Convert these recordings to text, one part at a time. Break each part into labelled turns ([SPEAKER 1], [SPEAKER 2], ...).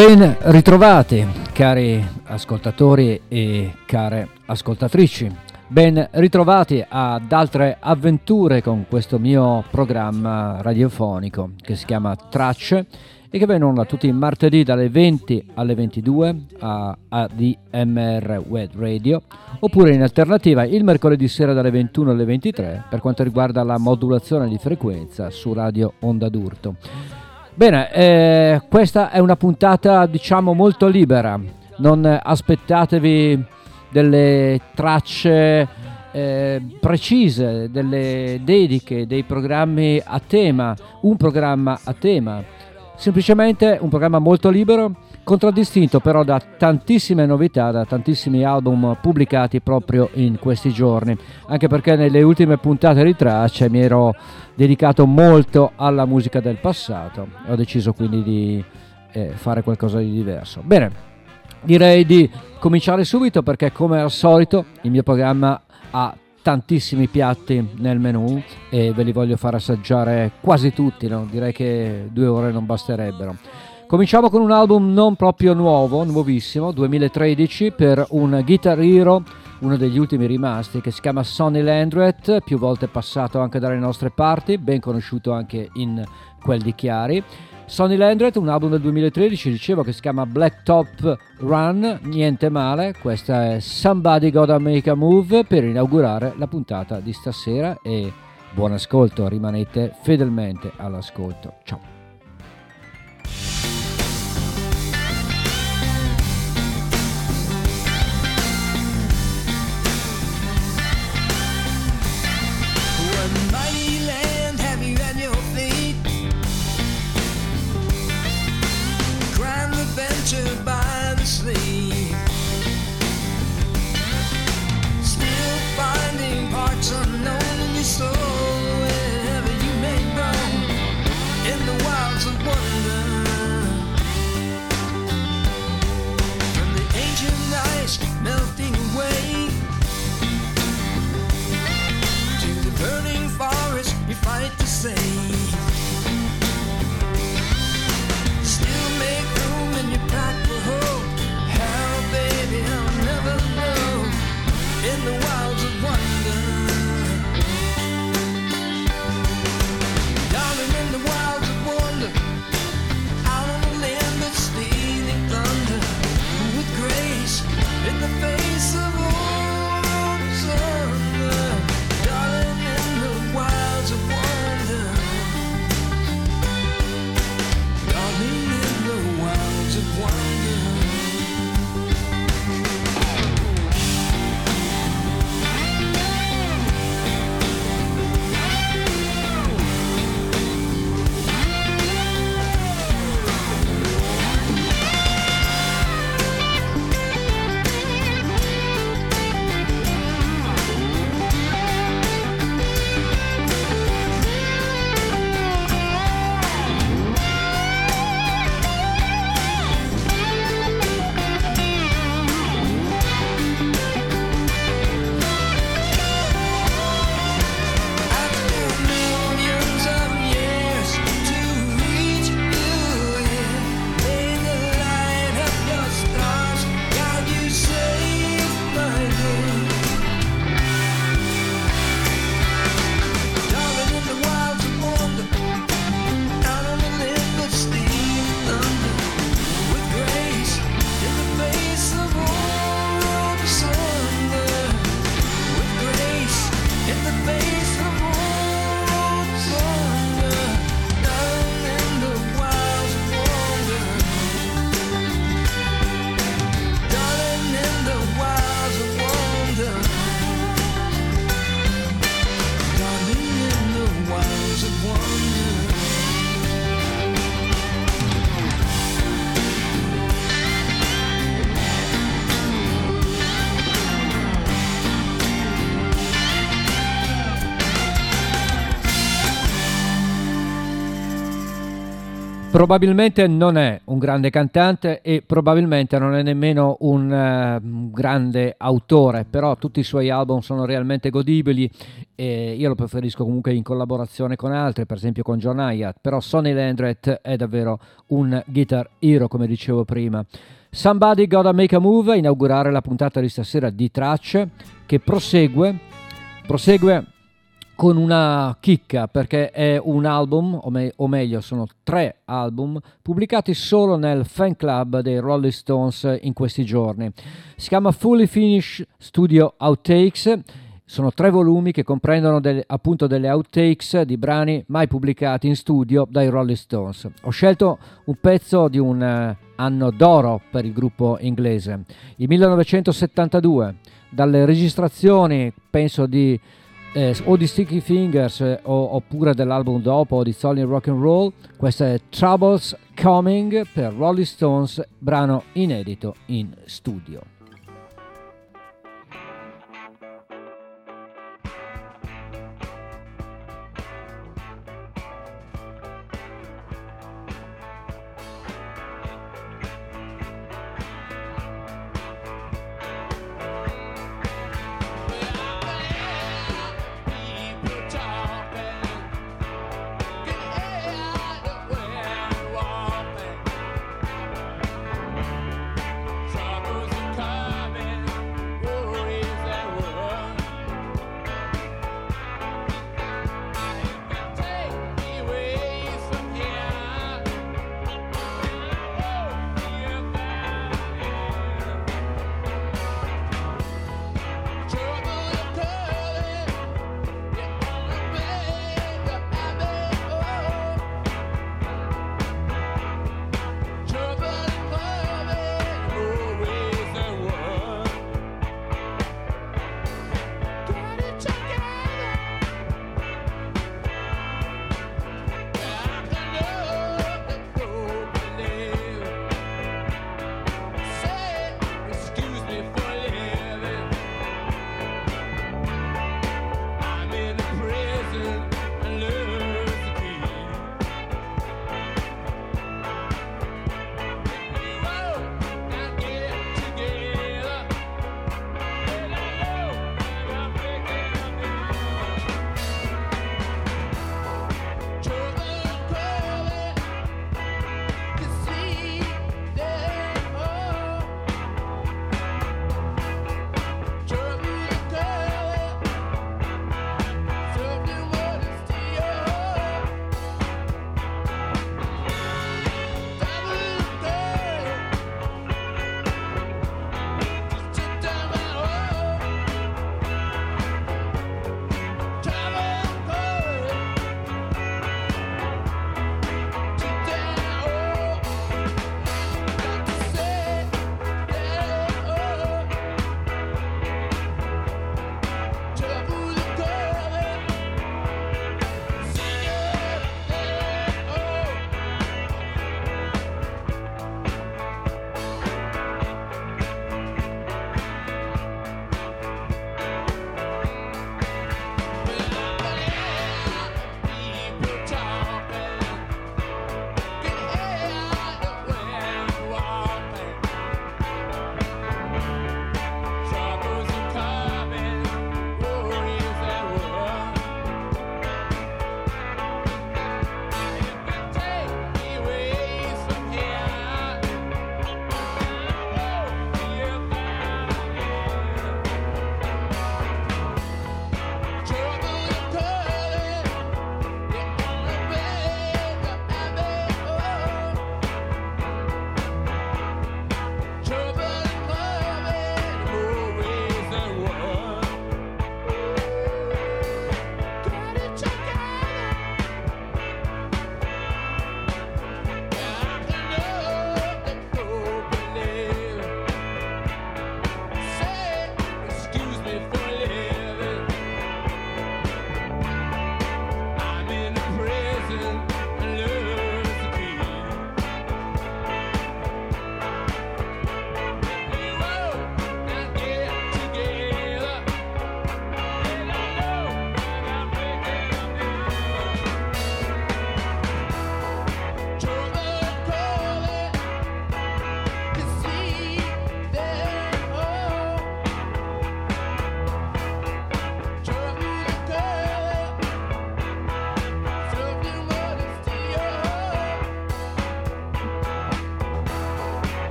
[SPEAKER 1] Ben ritrovati cari ascoltatori e care ascoltatrici, ben ritrovati ad altre avventure con questo mio programma radiofonico che si chiama Tracce e che viene onda tutti i martedì dalle 20 alle 22 a ADMR Web Radio, oppure in alternativa il mercoledì sera dalle 21 alle 23 per quanto riguarda la modulazione di frequenza su Radio Onda d'Urto. Bene, questa è una puntata diciamo molto libera, non aspettatevi delle tracce precise, delle dediche, dei programmi a tema, un programma a tema, semplicemente un programma molto libero, contraddistinto però da tantissime novità, da tantissimi album pubblicati proprio in questi giorni, anche perché nelle ultime puntate di Tracce mi ero dedicato molto alla musica del passato e ho deciso quindi di fare qualcosa di diverso. Bene, direi di cominciare subito perché come al solito il mio programma ha tantissimi piatti nel menù e ve li voglio far assaggiare quasi tutti, no? Direi che 2 ore non basterebbero. Cominciamo con un album non proprio nuovo, nuovissimo, 2013, per un Guitar Hero, uno degli ultimi rimasti, che si chiama Sonny Landreth, più volte passato anche dalle nostre parti, ben conosciuto anche in quel di Chiari. Sonny Landreth, un album del 2013, dicevo, che si chiama Blacktop Run, niente male, questa è Somebody Gotta Make a Move per inaugurare la puntata di stasera e buon ascolto, rimanete fedelmente all'ascolto. Ciao.
[SPEAKER 2] By the sleeve, still finding parts unknown in your soul, wherever you may roam in the
[SPEAKER 1] Probabilmente non è un grande cantante e probabilmente non è nemmeno un grande autore, però tutti i suoi album sono realmente godibili e io lo preferisco comunque in collaborazione con altri, per esempio con John Hyatt, però Sonny Landreth è davvero un guitar hero, come dicevo prima. Somebody Gotta Make a Move a inaugurare la puntata di stasera di Tracce, che prosegue con una chicca, perché è un album, o meglio sono 3 album pubblicati solo nel fan club dei Rolling Stones in questi giorni. Si chiama Fully Finished Studio Outtakes. Sono 3 volumi che comprendono appunto delle outtakes di brani mai pubblicati in studio dai Rolling Stones. Ho scelto un pezzo di un anno d'oro per il gruppo inglese, il 1972, dalle registrazioni penso o di Sticky Fingers oppure dell'album dopo di Solid Rock and Roll. Questa è Troubles Coming per Rolling Stones, brano inedito in studio.
[SPEAKER 2] Troubles are coming.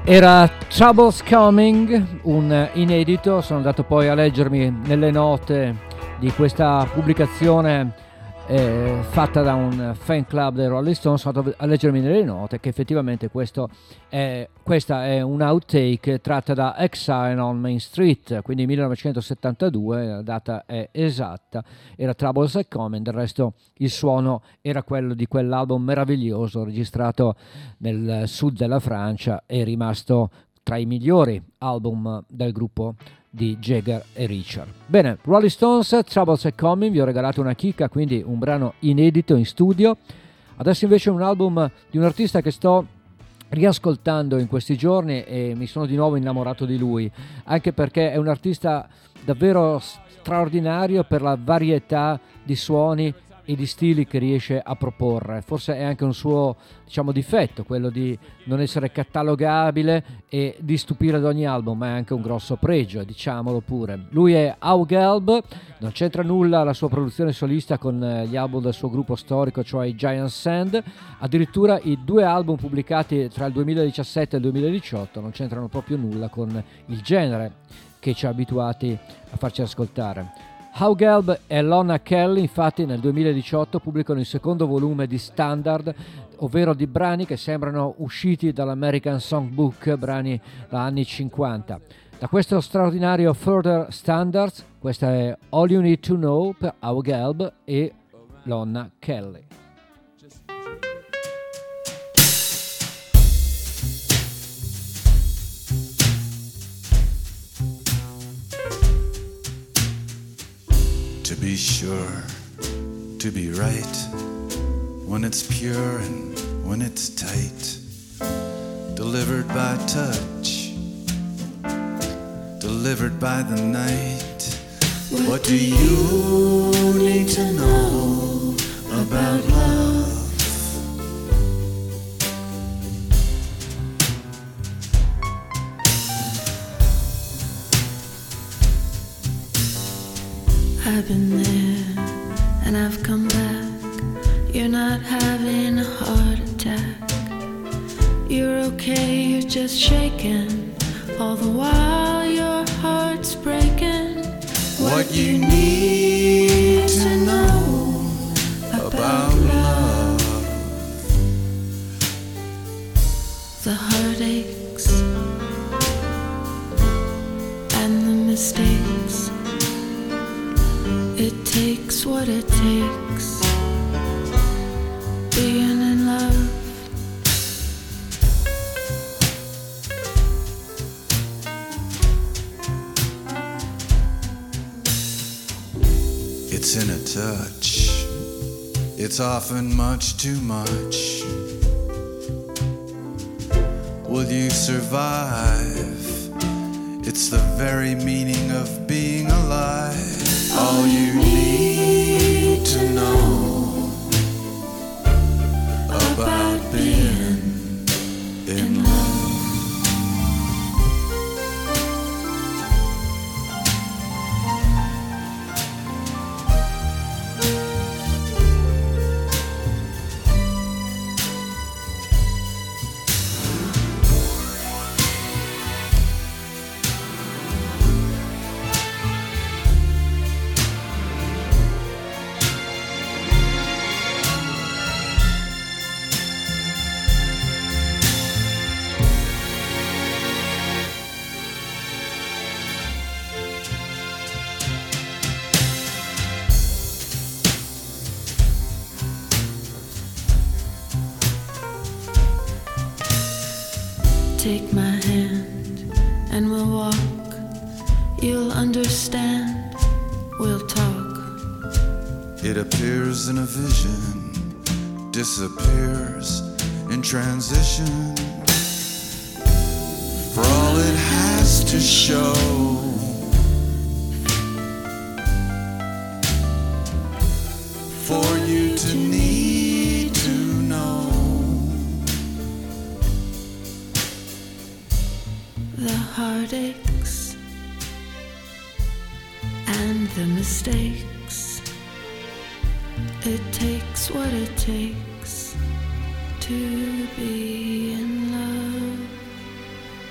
[SPEAKER 1] Era Troubles Coming, un inedito. Sono andato poi a leggermi nelle note di questa pubblicazione fatta da un fan club dei Rolling Stones. Sono andato a leggermi nelle note che effettivamente questa è un outtake tratta da Exile on Main Street, quindi 1972, la data è esatta. Era Troubles Coming, del resto il suono era quello di quell'album meraviglioso registrato nel sud della Francia, è rimasto tra i migliori album del gruppo di Jagger e Richard. Bene, Rolling Stones, Troubles Are Coming, vi ho regalato una chicca, quindi un brano inedito in studio. Adesso invece un album di un artista che sto riascoltando in questi giorni e mi sono di nuovo innamorato di lui, anche perché è un artista davvero straordinario per la varietà di suoni e di stili che riesce a proporre. Forse è anche un suo, diciamo, difetto, quello di non essere catalogabile e di stupire ad ogni album, ma è anche un grosso pregio, diciamolo pure. Lui è Hugh Gelb, non c'entra nulla la sua produzione solista con gli album del suo gruppo storico, cioè i Giant Sand. Addirittura i due album pubblicati tra il 2017 e il 2018 non c'entrano proprio nulla con il genere che ci ha abituati a farci ascoltare. Hugh Gelb e Lonna Kelly infatti nel 2018 pubblicano il secondo volume di Standard, ovvero di brani che sembrano usciti dall'American Songbook, brani da anni 50. Da questo straordinario Further Standards, questa è All You Need to Know per Hugh Gelb e Lonna Kelly.
[SPEAKER 3] To be sure, to be right, when it's pure and when it's tight, delivered by touch, delivered by the night. What do you need to know about love?
[SPEAKER 4] I've been there and I've come back. You're not having a heart attack. You're okay, you're just shaking. All the while your heart's breaking.
[SPEAKER 3] What you need to know about love.
[SPEAKER 4] The heartaches and the mistakes. It takes what it takes, being in love.
[SPEAKER 3] It's in a touch, it's often much too much. Will you survive? It's the very meaning of being alive. All you need to know about being in love.
[SPEAKER 4] Take my hand and we'll walk. You'll understand, we'll talk.
[SPEAKER 3] It appears in a vision, disappears in transition. For all it has to show, for you to need to know.
[SPEAKER 4] The heartaches and the mistakes. It takes what it takes to be in love.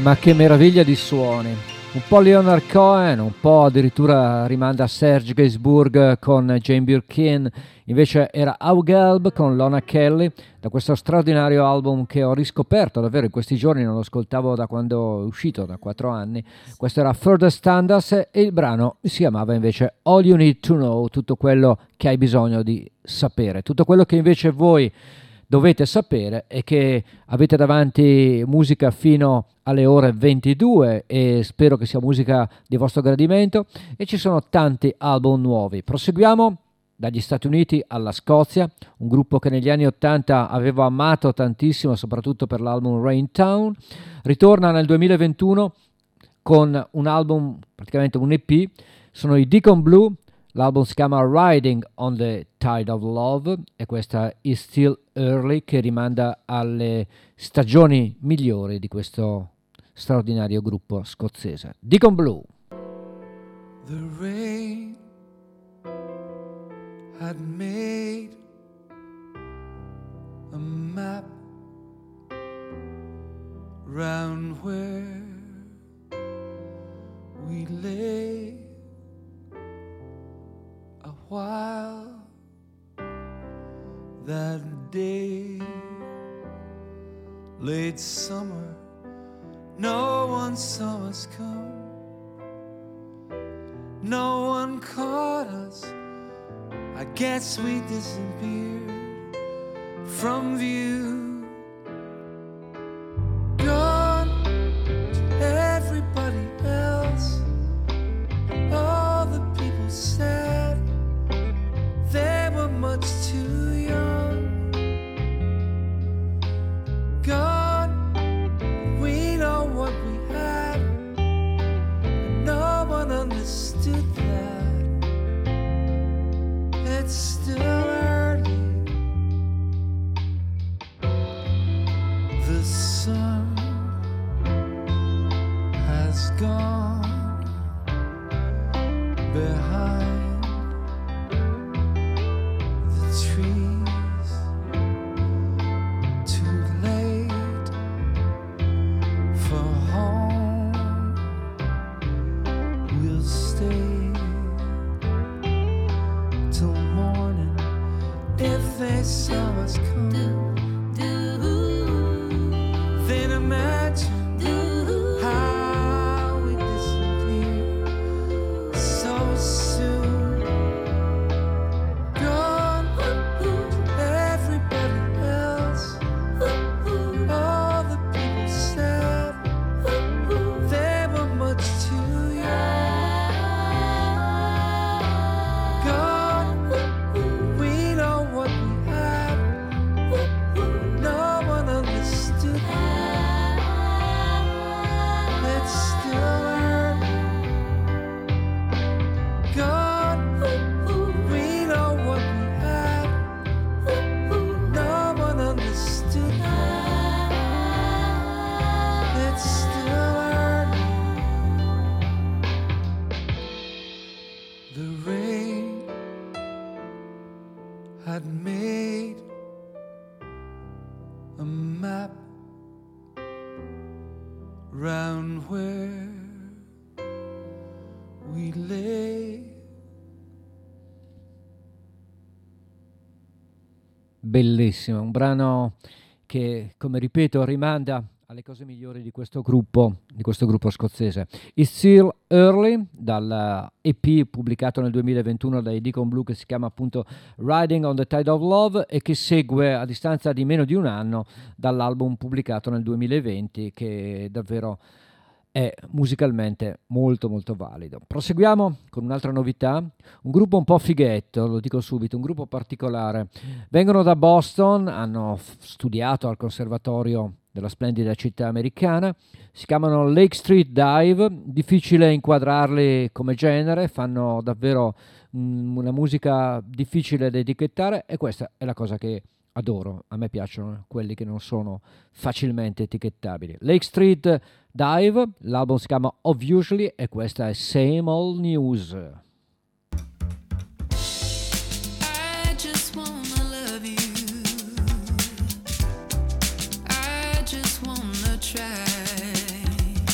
[SPEAKER 1] Ma che meraviglia di suoni! Un po' Leonard Cohen, un po' addirittura rimanda a Serge Gainsbourg con Jane Birkin, invece era Augelb con Lona Kelly, da questo straordinario album che ho riscoperto davvero in questi giorni, non lo ascoltavo da quando è uscito, da 4 anni. Questo era Further Standards e il brano si chiamava invece All You Need to Know, tutto quello che hai bisogno di sapere, tutto quello che invece voi dovete sapere è che avete davanti musica fino alle ore 22 e spero che sia musica di vostro gradimento e ci sono tanti album nuovi. Proseguiamo dagli Stati Uniti alla Scozia, un gruppo che negli anni 80 avevo amato tantissimo soprattutto per l'album Rain Town, ritorna nel 2021 con un album, praticamente un EP, sono i Deacon Blue. L'album si chiama Riding on the Tide of Love e questa Is Still Early, che rimanda alle stagioni migliori di questo straordinario gruppo scozzese. Deacon Blue.
[SPEAKER 3] The rain had made a map round where we lay a while that day, late summer, no one saw us come, no one caught us, I guess we disappeared from view, gone to everybody else, all the people said they were much too young, gone, we know what we had, and no one understood that, it's still early, the sun has gone behind trees, too late for home, we'll stay till morning if they saw us come, then imagine how we disappear so soon, gone, everybody else, all the people said they were much too young, gone, we know what we had, no one understood that, it's still early, gone, we know what we had, no one understood that, it's still early, the rain had made a map round where we lay.
[SPEAKER 1] Bellissimo, un brano che, come ripeto, rimanda alle cose migliori di questo gruppo scozzese. It's Still Early, dal EP pubblicato nel 2021 dai Deacon Blue, che si chiama appunto Riding on the Tide of Love e che segue a distanza di meno di un anno dall'album pubblicato nel 2020, che davvero è musicalmente molto molto valido. Proseguiamo con un'altra novità, un gruppo un po' fighetto, lo dico subito, un gruppo particolare. Vengono da Boston, hanno studiato al conservatorio della splendida città americana, si chiamano Lake Street Dive, difficile inquadrarli come genere, fanno davvero una musica difficile da etichettare e questa è la cosa che adoro, a me piacciono quelli che non sono facilmente etichettabili. Lake Street Dive, l'album si chiama Obviously e questa è Same Old News.
[SPEAKER 4] I just wanna love you. I just wanna try.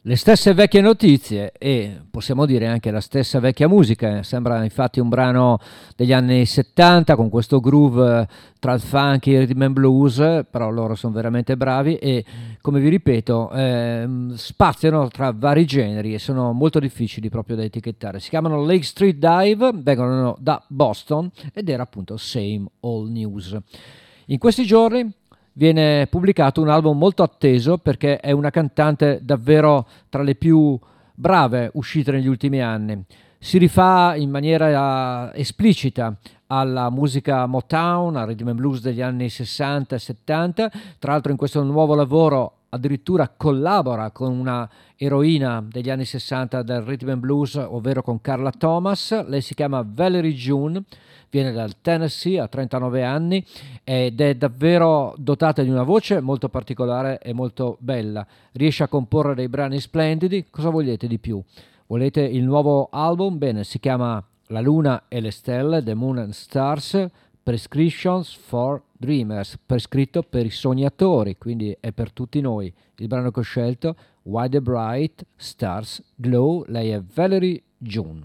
[SPEAKER 1] Le stesse vecchie notizie e possiamo dire anche la stessa vecchia musica. Sembra infatti un brano degli anni 70 con questo groove tra il funk e il rhythm and blues, però loro sono veramente bravi e, come vi ripeto, spaziano tra vari generi e sono molto difficili proprio da etichettare. Si chiamano Lake Street Dive, vengono da Boston ed era appunto Same Old News. In questi giorni viene pubblicato un album molto atteso perché è una cantante davvero tra le più brave uscite negli ultimi anni. Si rifà in maniera esplicita alla musica Motown, al rhythm and blues degli anni 60 e 70. Tra l'altro in questo nuovo lavoro addirittura collabora con una eroina degli anni 60 del rhythm and blues, ovvero con Carla Thomas. Lei si chiama Valerie June, viene dal Tennessee, ha 39 anni ed è davvero dotata di una voce molto particolare e molto bella. Riesce a comporre dei brani splendidi. Cosa volete di più? Volete il nuovo album? Bene, si chiama La Luna e le Stelle, The Moon and Stars, Prescriptions for Dreamers, prescritto per i sognatori, quindi è per tutti noi. Il brano che ho scelto, Why the Bright Stars Glow, lei è Valerie June.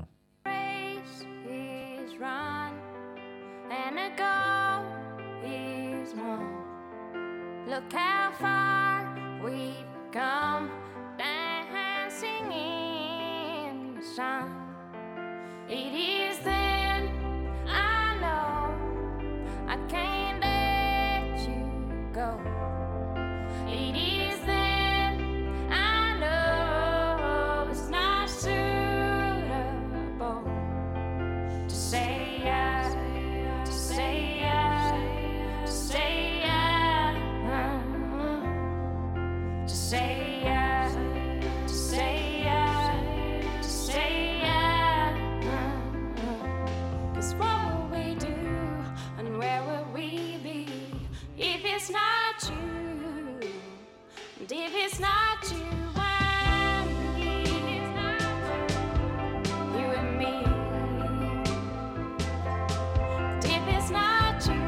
[SPEAKER 5] Look how far we've come, dancing in the sun. It is then I know I can't let you go. It is then I know it's not suitable to say yes, to say yes, to say yes. To say yes, to say yes, to say yes. 'Cause what will we do and where will we be if it's not you? And if it's not you and me, you and me. And if it's not you,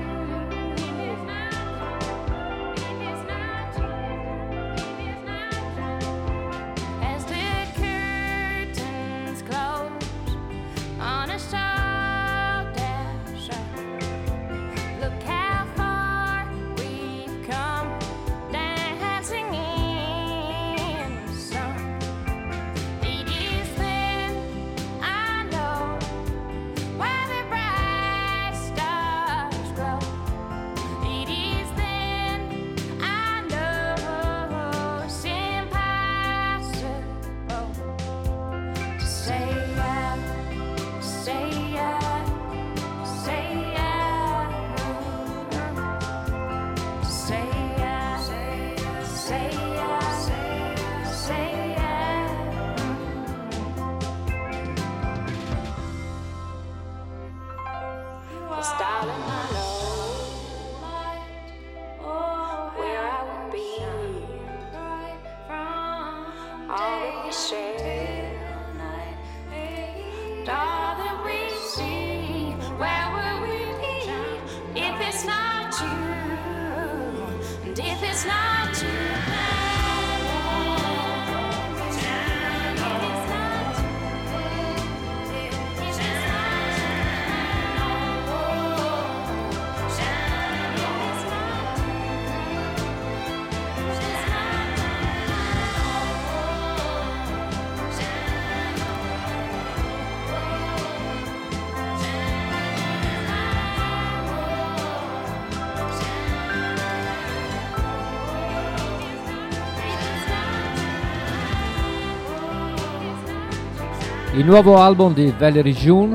[SPEAKER 1] Il nuovo album di Valerie June,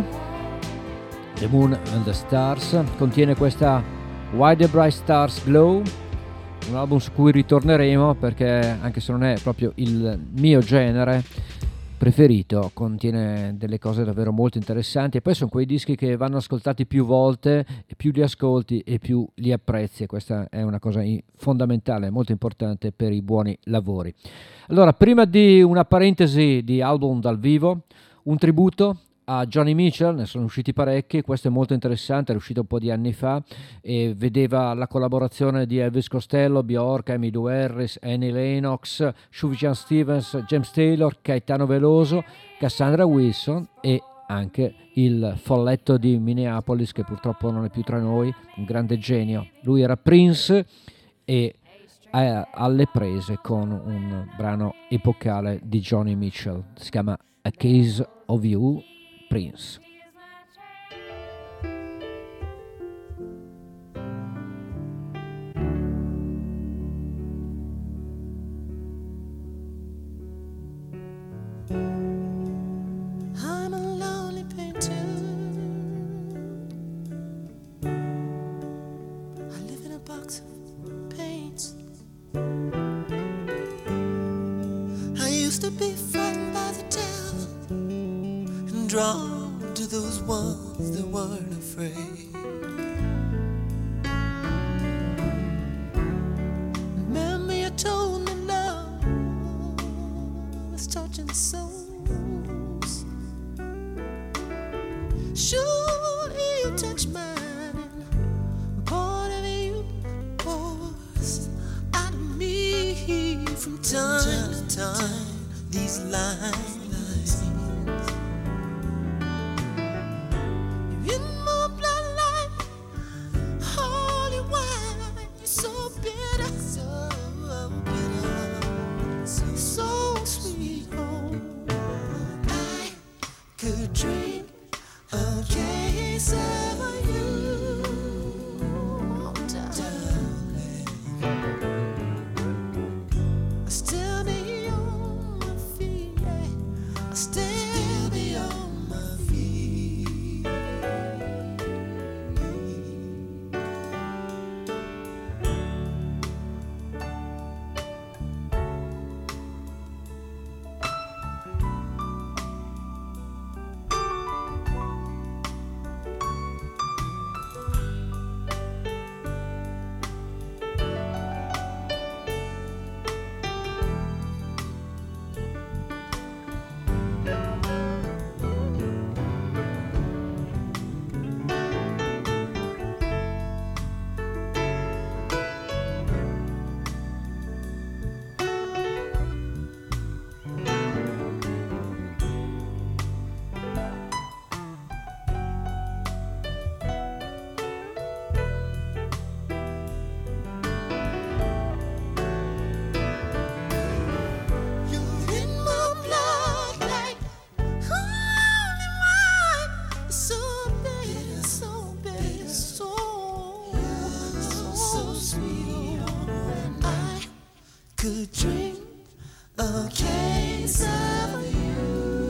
[SPEAKER 1] The Moon and the Stars, contiene questa Why the Bright Stars Glow, un album su cui ritorneremo perché, anche se non è proprio il mio genere preferito, contiene delle cose davvero molto interessanti e poi sono quei dischi che vanno ascoltati più volte e più li ascolti e più li apprezzi, e questa è una cosa fondamentale, molto importante per i buoni lavori. Allora, prima di una parentesi di album dal vivo, un tributo a Johnny Mitchell, ne sono usciti parecchi, questo è molto interessante, è uscito un po' di anni fa e vedeva la collaborazione di Elvis Costello, Bjork, Emmylou Harris, Annie Lennox, Sufjan Stevens, James Taylor, Caetano Veloso, Cassandra Wilson e anche il folletto di Minneapolis che purtroppo non è più tra noi, un grande genio. Lui era Prince e alle prese con un brano epocale di Johnny Mitchell, si chiama A Case of You, Prince.
[SPEAKER 3] I'm a lonely painter. I live in a box of paints. I used to be frightened by the devil and drawn to those ones that weren't afraid. Remember you told me love was touching souls. Sure, you touch mine, and part of you pours out of me from time to time. These lines, you're in my bloodline, holy wine. You're so bitter, so bitter, so sweet. Oh, I could drink a case of you, darling. I still be on my feet, yeah. I still be on my feet. You're in my blood like holy wine. So bitter, so bitter, so sweet. I could drink a case of you,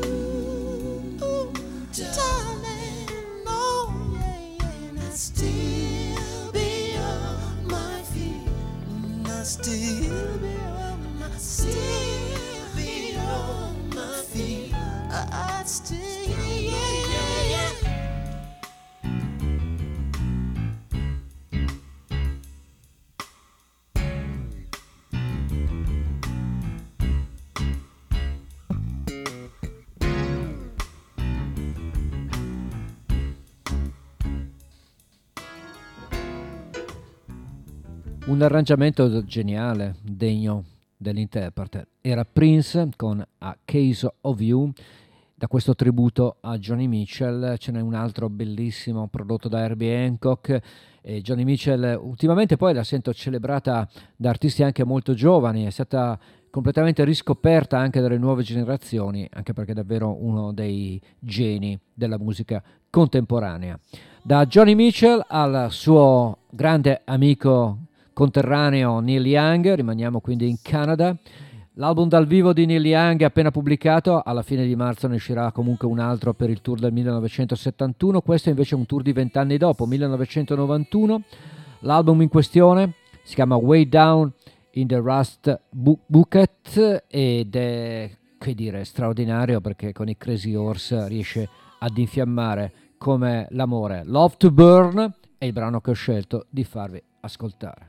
[SPEAKER 3] darling. Oh yeah, and I still be on my feet. And I still be on my, still be on my feet. I'd still, yeah.
[SPEAKER 1] Un arrangiamento geniale, degno dell'interprete. Era Prince con A Case of You, da questo tributo a Johnny Mitchell. Ce n'è un altro bellissimo prodotto da Herbie Hancock. E Johnny Mitchell ultimamente poi la sento celebrata da artisti anche molto giovani, è stata completamente riscoperta anche dalle nuove generazioni, anche perché è davvero uno dei geni della musica contemporanea. Da Johnny Mitchell al suo grande amico conterraneo Neil Young, rimaniamo quindi in Canada. L'album dal vivo di Neil Young è appena pubblicato, alla fine di marzo ne uscirà comunque un altro per il tour del 1971, questo invece è un tour di 20 anni dopo, 1991. L'album in questione si chiama Way Down in the Rust Bucket ed è, che dire, straordinario perché con i Crazy Horse riesce ad infiammare come l'amore. Love to Burn è il brano che ho scelto di farvi ascoltare.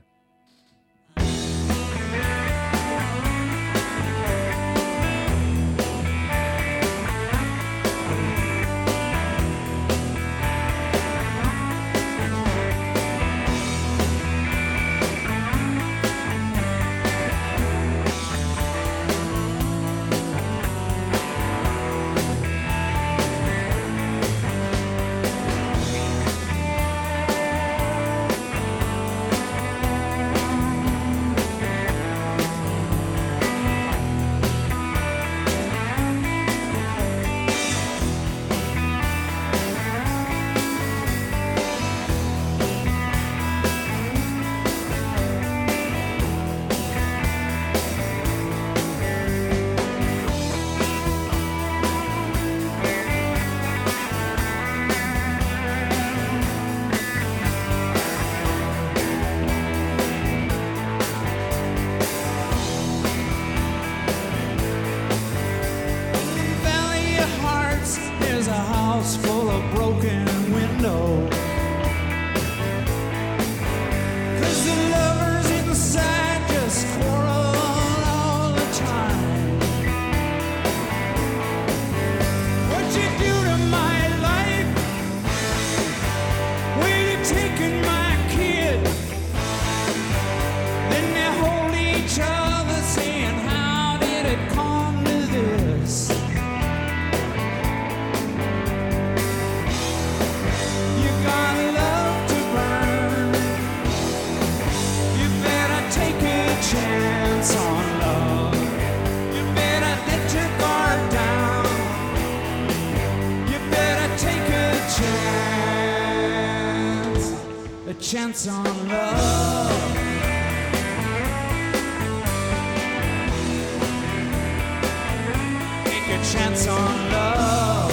[SPEAKER 6] chance on love. You better let your guard down. You better take a chance on love. Take a chance on love.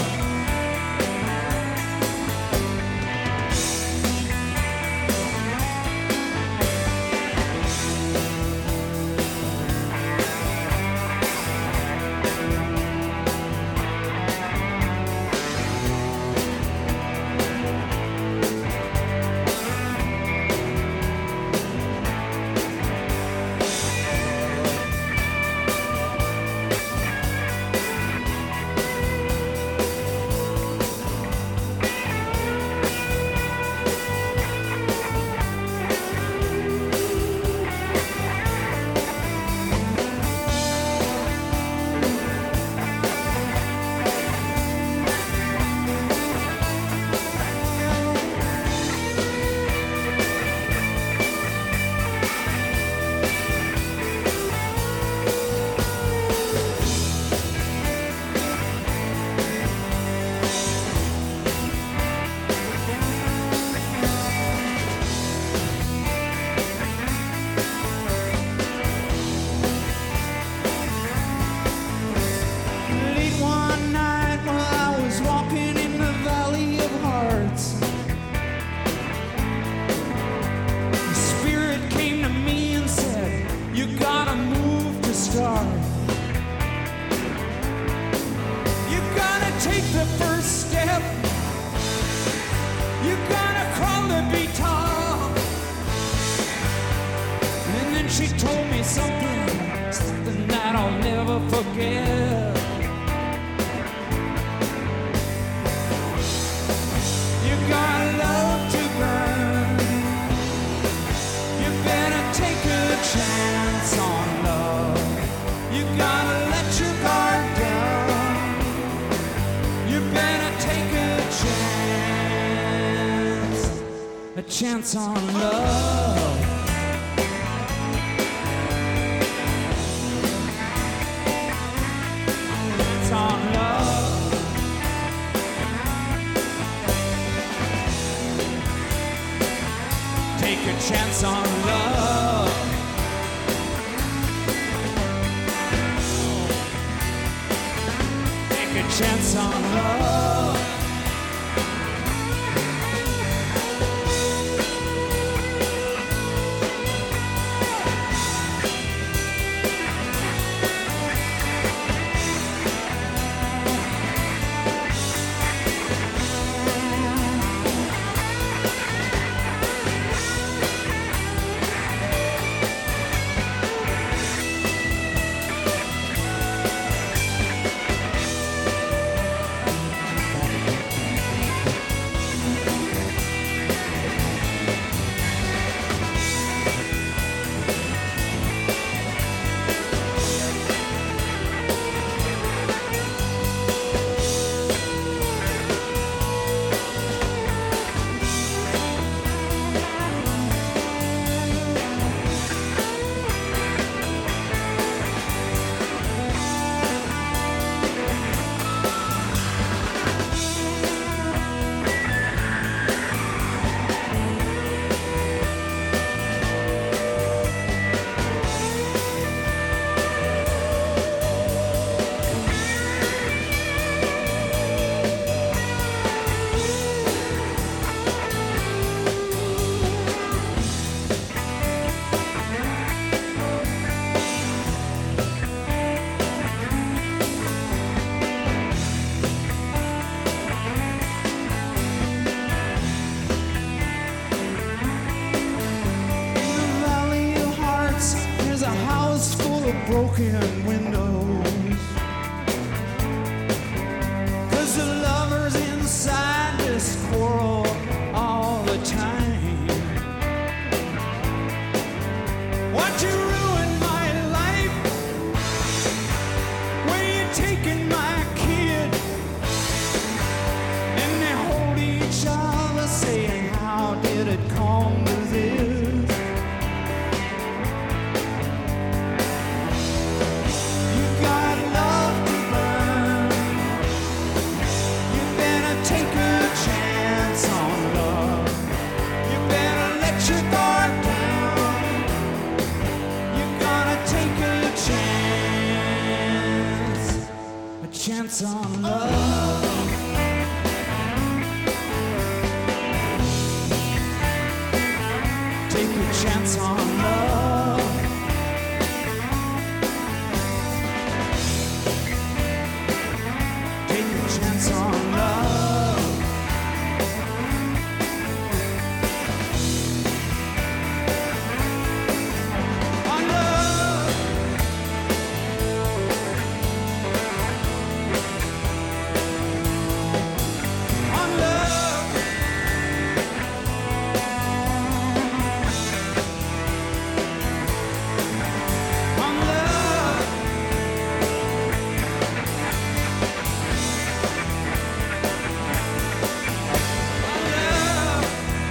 [SPEAKER 6] She told me something that I'll never forget. You got love to burn. You better take a chance on love. You gotta let your guard down. You better take a chance on love. On love. Take a chance on love. Take a chance on love. Broken windows, 'cause the lovers inside just quarrel all the time. Why'd you ruin my life when you're taking my kid? And they hold each other saying, how did it come to this? chance on love. Take a chance on love. Take a chance on love. On love. On love. On love. On love.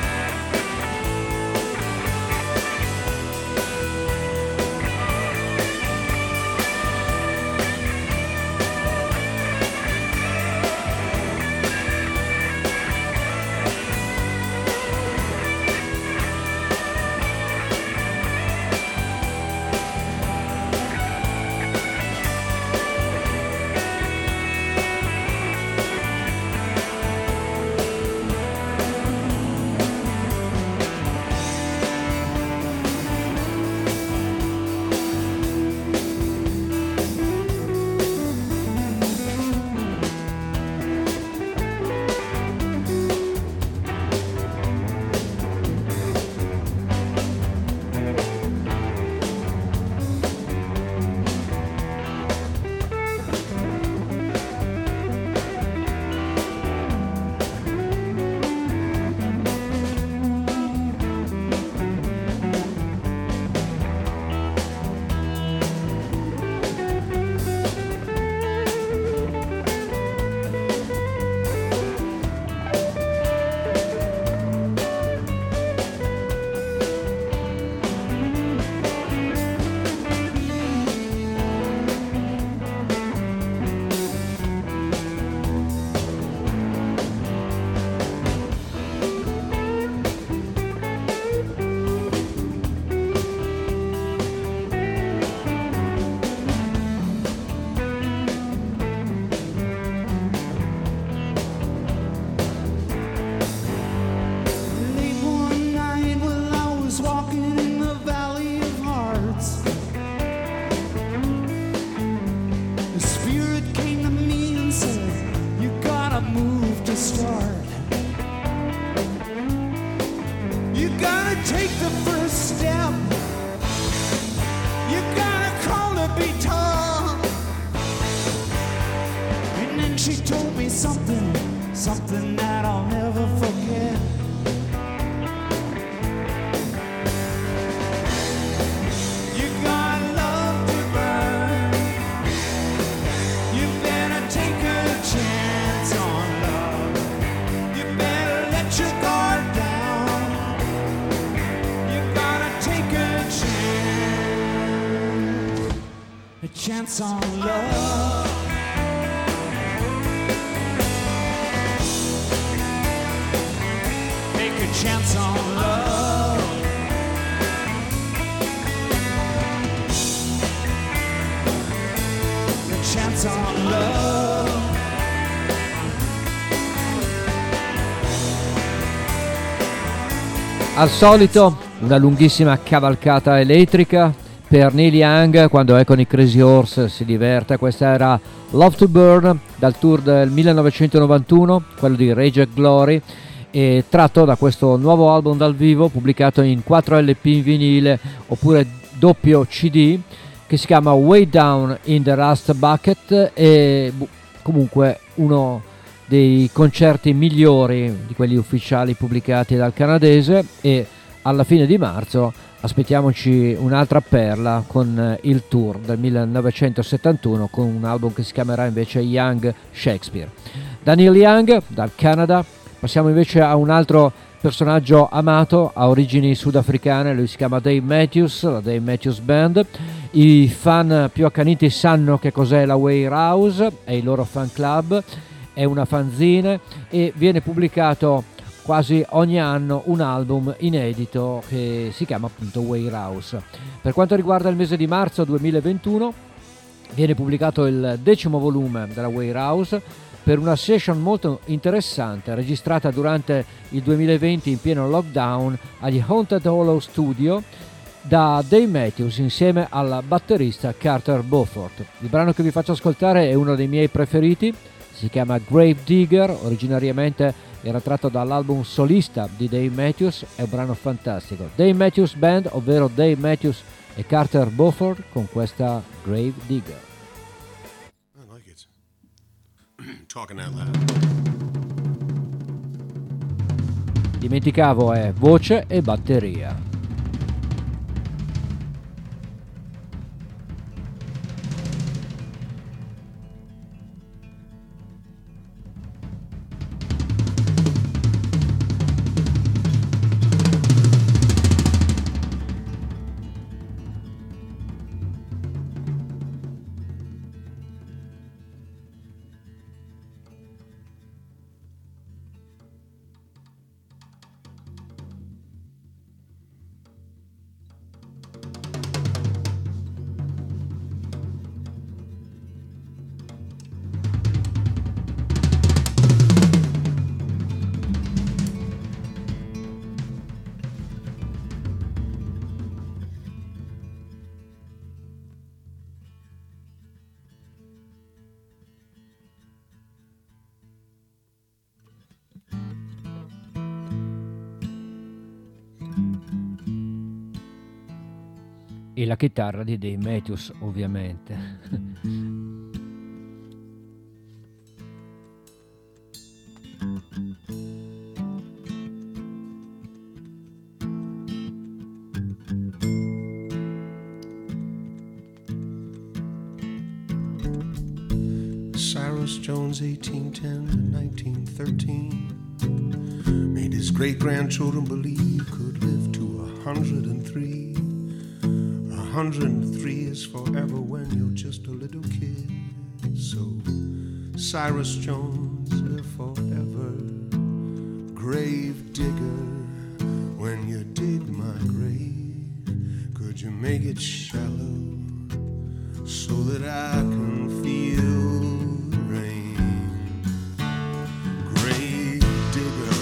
[SPEAKER 6] Late one night while I was walking in the Valley of Hearts, the Spirit came to me and said, "You gotta move to start. You gotta take the first step. You gotta crawl to be tall." And then she told me something that I'll never forget. You got love to burn. You better take a chance on love. You better let your guard down. You gotta take a chance on love. Take a chance on love. A chance on love.
[SPEAKER 1] Al solito una lunghissima cavalcata elettrica per Neil Young quando è con i Crazy Horse, si diverte. Questa era Love to Burn dal tour del 1991, quello di Rage and Glory, e tratto da questo nuovo album dal vivo pubblicato in 4 LP in vinile oppure doppio CD, che si chiama Way Down in the Rust Bucket, e comunque uno dei concerti migliori di quelli ufficiali pubblicati dal canadese. E alla fine di marzo aspettiamoci un'altra perla con il tour del 1971 con un album che si chiamerà invece Young Shakespeare. Da Neil Young, dal Canada, passiamo invece a un altro personaggio amato, a origini sudafricane. Lui si chiama Dave Matthews, la Dave Matthews Band. I fan più accaniti sanno che cos'è la Warehouse, è il loro fan club, è una fanzine e viene pubblicato quasi ogni anno un album inedito che si chiama appunto Warehouse. Per quanto riguarda il mese di marzo 2021, viene pubblicato il 10° volume della Warehouse per una session molto interessante registrata durante il 2020 in pieno lockdown agli Haunted Hollow Studio da Dave Matthews insieme al batterista Carter Beauford. Il brano che vi faccio ascoltare è uno dei miei preferiti, si chiama Grave Digger, originariamente era tratto dall'album solista di Dave Matthews, è un brano fantastico. Dave Matthews Band, ovvero Dave Matthews e Carter Beauford con questa Grave Digger.
[SPEAKER 7] I like it. Talking out loud.
[SPEAKER 1] Dimenticavo, è voce e batteria. E la chitarra di Dave Matthews, ovviamente.
[SPEAKER 7] Cyrus Jones, 1810 to 1913, made his great-grandchildren believe could live to 103. 103 is forever when you're just a little kid. So, Cyrus Jones, live forever. Grave digger, when you dig my grave, could you make it shallow so that I can feel the rain? Grave digger.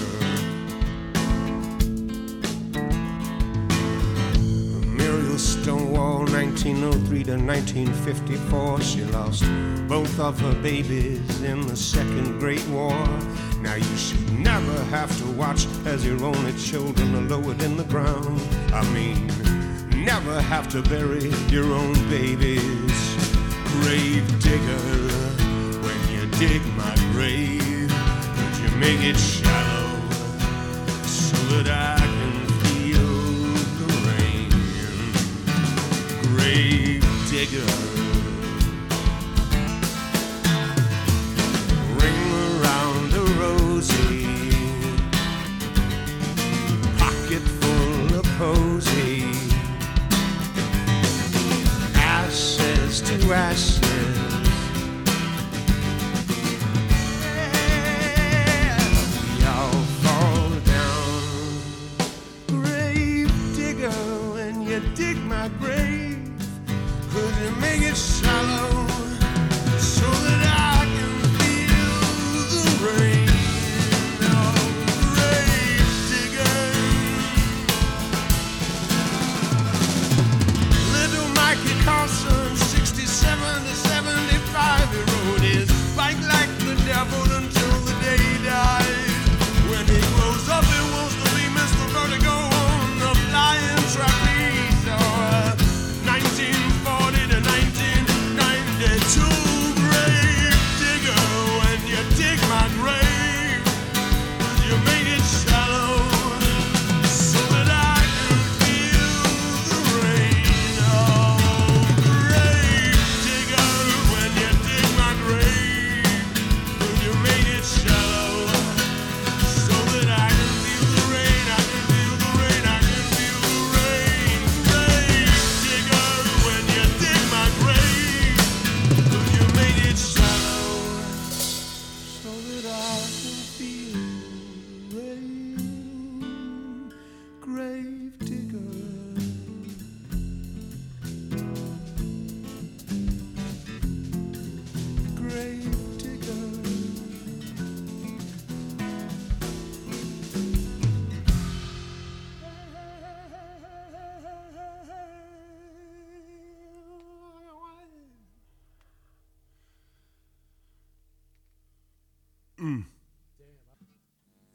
[SPEAKER 7] Stonewall, 1903 to 1954. She lost both of her babies in the Second Great War. Now you should never have to watch as your only children are lowered in the ground. I mean, never have to bury your own babies. Grave digger, when you dig my grave, could you make it shallow so that I can feel the rain? Grave digger, ring around a rosy, pocket full of posy, ashes to ashes. Yeah, we all fall down. Grave digger, when you dig my grave, could you make it shallow so that I can feel the rain? Oh, grave digger. Little Mikey Carson, 67 to 75, he rode his bike like the devil until the day he died. When he grows up, he wants to be Mr. Vertigo on the flying trapeze. 1940 to 19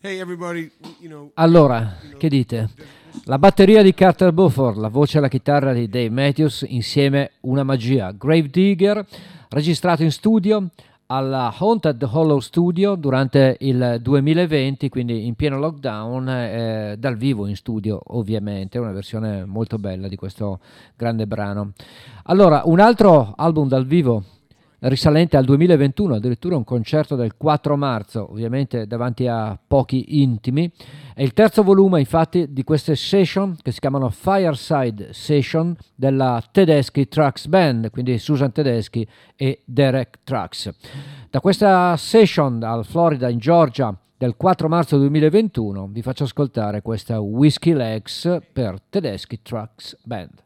[SPEAKER 7] Hey everybody,
[SPEAKER 1] Allora, che dite? La batteria di Carter Beauford, la voce e la chitarra di Dave Matthews, insieme una magia. Gravedigger, registrato in studio alla Haunted Hollow Studio durante il 2020, quindi in pieno lockdown, dal vivo in studio ovviamente, una versione molto bella di questo grande brano. Allora, un altro album dal vivo risalente al 2021, addirittura un concerto del 4 marzo, ovviamente davanti a pochi intimi. È il terzo volume, infatti, di queste session che si chiamano Fireside Session della Tedeschi Trucks Band, quindi Susan Tedeschi e Derek Trucks. Da questa session al Florida in Georgia del 4 marzo 2021 vi faccio ascoltare questa Whiskey Legs per Tedeschi Trucks Band.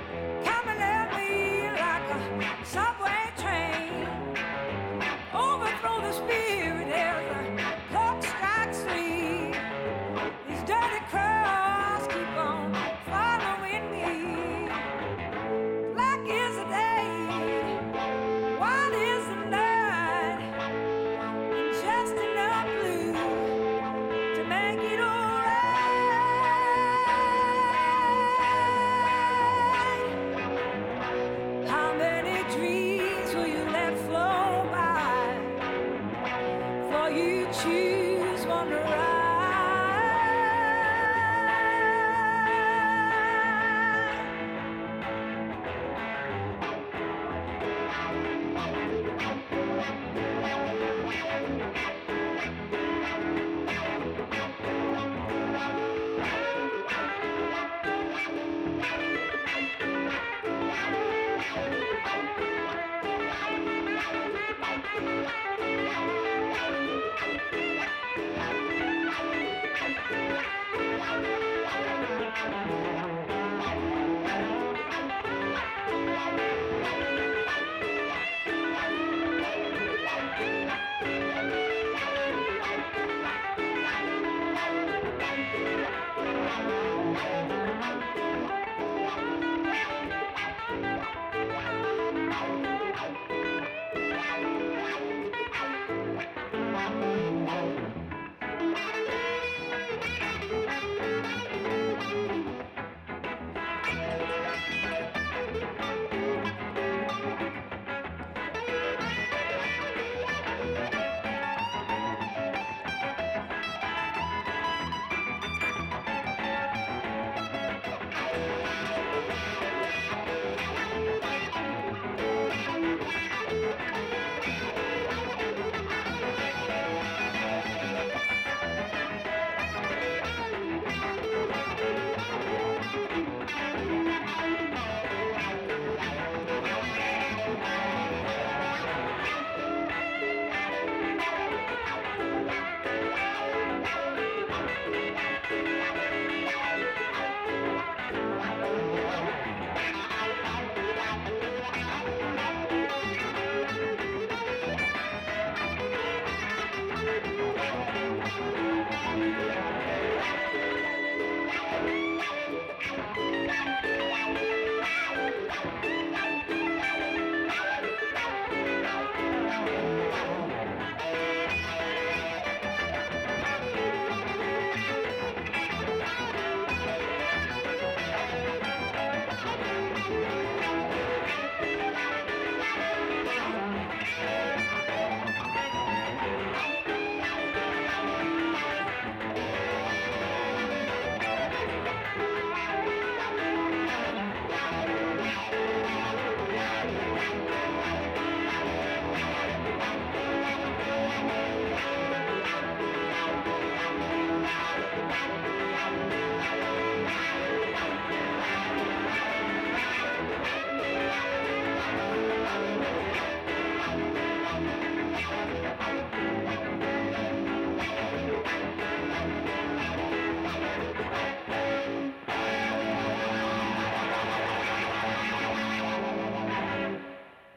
[SPEAKER 3] Over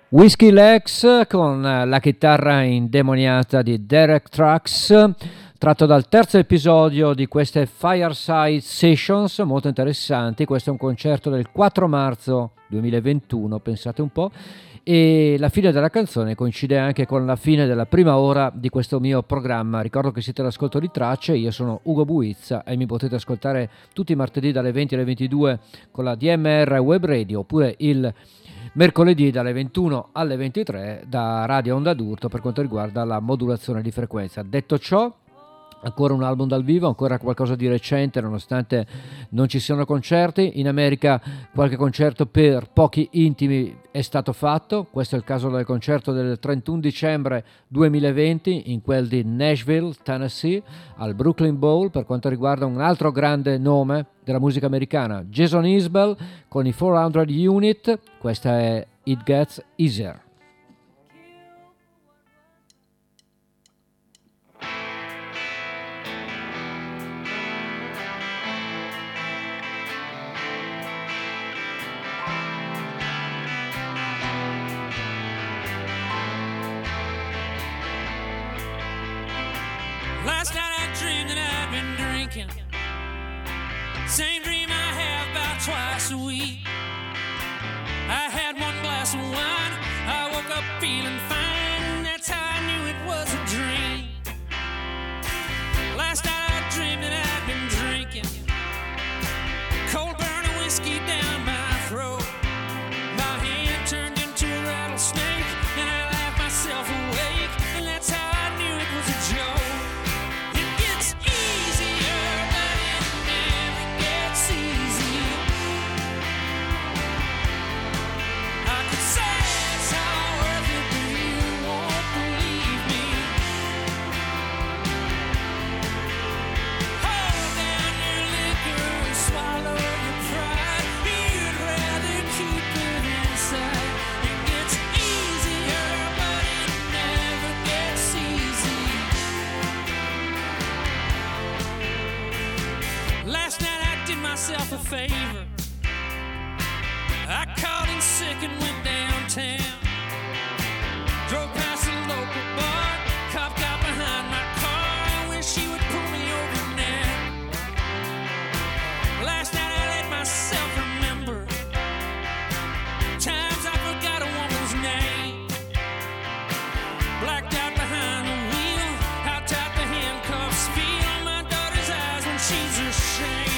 [SPEAKER 1] Whiskey Legs con la chitarra indemoniata di Derek Trucks, tratto dal terzo episodio di queste Fireside Sessions, molto interessanti. Questo è un concerto del 4 marzo 2021, pensate un po', e la fine della canzone coincide anche con la fine della prima ora di questo mio programma. Ricordo che siete all'ascolto di Tracce, io sono Ugo Buizza e mi potete ascoltare tutti i martedì dalle 20 alle 22 con la DMR Web Radio, oppure il mercoledì dalle 21 alle 23 da Radio Onda d'Urto per quanto riguarda la modulazione di frequenza. Detto ciò, ancora un album dal vivo, ancora qualcosa di recente nonostante non ci siano concerti. In America qualche concerto per pochi intimi è stato fatto, questo è il caso del concerto del 31 dicembre 2020 in quel di Nashville, Tennessee, al Brooklyn Bowl. Per quanto riguarda un altro grande nome della musica americana, Jason Isbell con i 400 Unit, questa è It Gets Easier.
[SPEAKER 6] Last night I dreamed that I'd been drinking. Same dream I have about twice a week. I had one glass of wine, I woke up feeling fine, and that's how I knew it was a dream. Last night I dreamed that I'd been drinking cold burning whiskey down my throat. My hand turned into a rattlesnake, and I laughed myself awake, and that's how I knew it was a joke. Myself a favor. I called in sick and went downtown. Drove past a local bar, cop got behind my car. I wish she would pull me over now. Last night I let myself remember times I forgot a woman's name. Blacked out behind the wheel, how tight the handcuffs feel. My daughter's eyes when she's ashamed.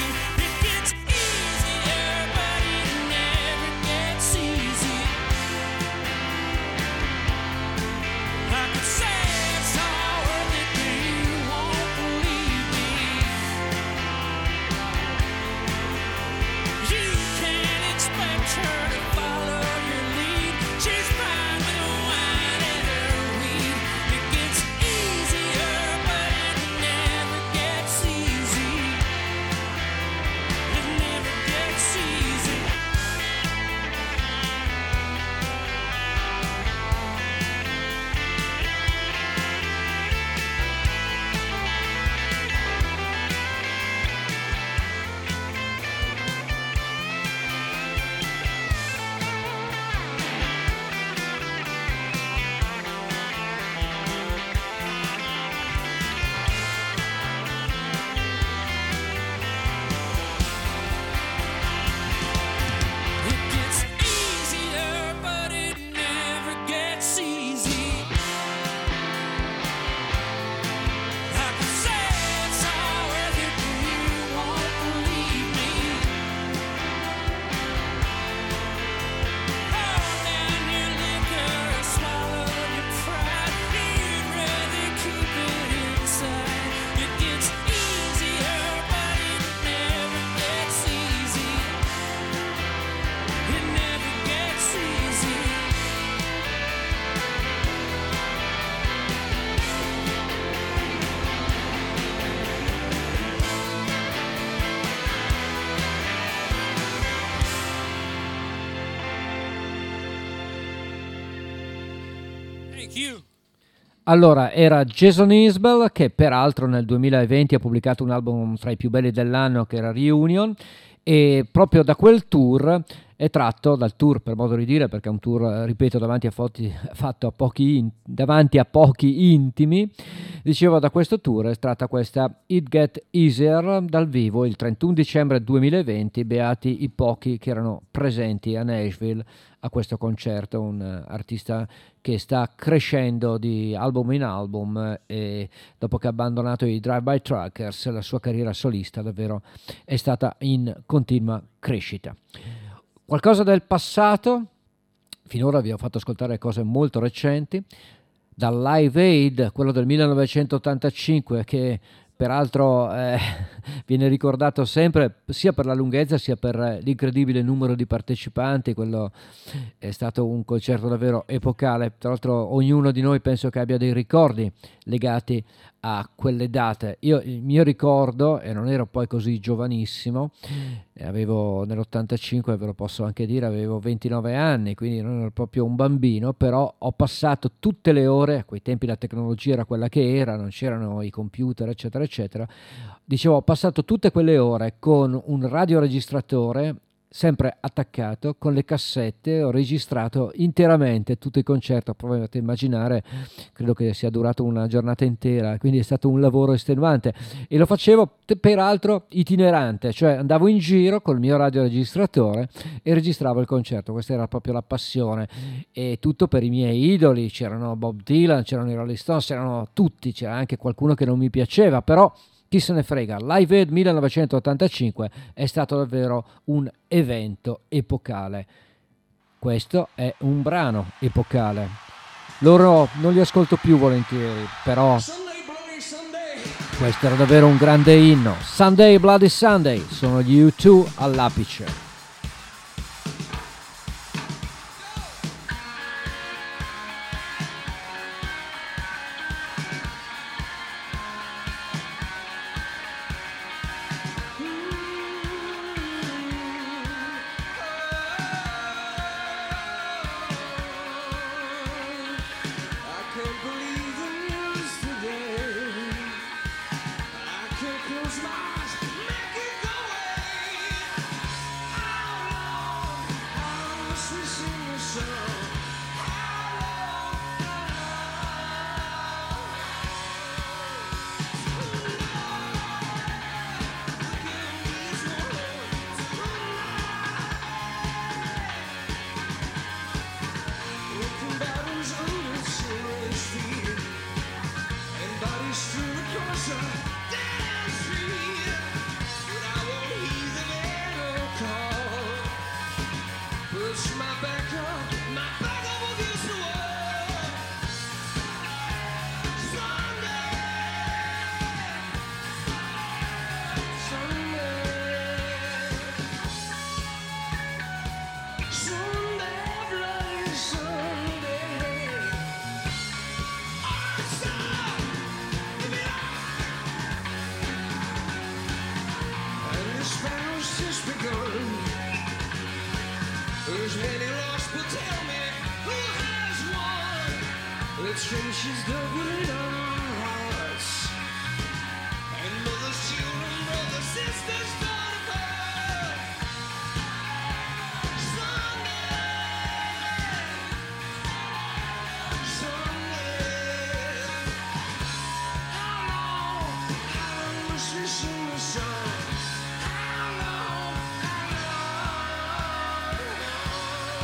[SPEAKER 1] Allora, era Jason Isbell, che peraltro nel 2020 ha pubblicato un album tra i più belli dell'anno che era Reunion, e proprio da quel tour è tratto dal tour, per modo di dire, perché è un tour, ripeto, fatto a davanti a pochi intimi. Dicevo, da questo tour è tratta questa It Get Easier dal vivo il 31 dicembre 2020, beati i pochi che erano presenti a Nashville a questo concerto. Un artista che sta crescendo di album in album, e dopo che ha abbandonato i Drive-By Truckers la sua carriera solista davvero è stata in continua crescita. Qualcosa del passato, finora vi ho fatto ascoltare cose molto recenti, dal Live Aid, quello del 1985, che peraltro viene ricordato sempre sia per la lunghezza sia per l'incredibile numero di partecipanti. Quello è stato un concerto davvero epocale. Tra l'altro ognuno di noi penso che abbia dei ricordi legati a quelle date. Il mio ricordo, e non ero poi così giovanissimo, avevo nell'85, ve lo posso anche dire, avevo 29 anni, quindi non ero proprio un bambino, però ho passato tutte le ore, a quei tempi la tecnologia era quella che era, non c'erano i computer eccetera eccetera, dicevo, ho passato tutte quelle ore con un radioregistratore sempre attaccato, con le cassette, ho registrato interamente tutto il concerto. Provate a immaginare, credo che sia durato una giornata intera, quindi è stato un lavoro estenuante, e lo facevo peraltro itinerante, cioè andavo in giro col mio radioregistratore e registravo il concerto. Questa era proprio la passione, e tutto per i miei idoli. C'erano Bob Dylan, c'erano i Rolling Stones, c'erano tutti, c'era anche qualcuno che non mi piaceva, però chi se ne frega. Live Aid 1985 è stato davvero un evento epocale. Questo è un brano epocale. Loro non li ascolto più volentieri, però questo era davvero un grande inno. Sunday Bloody Sunday, sono gli U2 all'apice.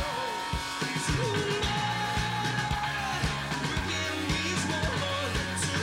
[SPEAKER 3] Ooh.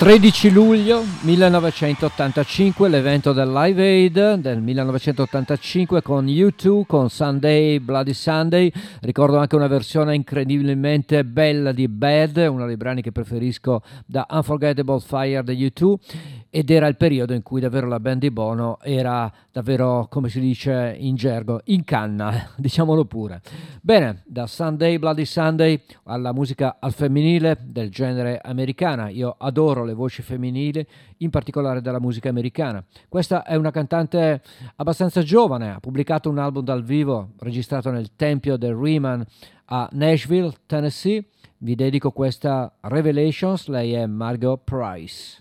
[SPEAKER 1] 13 luglio 1985, l'evento del Live Aid del 1985 con U2, con Sunday, Bloody Sunday. Ricordo anche una versione incredibilmente bella di Bad, uno dei brani che preferisco da Unforgettable Fire degli U2, ed era il periodo in cui davvero la band di Bono era davvero, come si dice in gergo, in canna, diciamolo pure. Bene, da Sunday, Bloody Sunday alla musica al femminile del genere americana. Io adoro le voci femminili, in particolare della musica americana. Questa è una cantante abbastanza giovane, ha pubblicato un album dal vivo registrato nel tempio del Riemann a Nashville, Tennessee. Vi dedico questa Revelations, lei è Margot Price.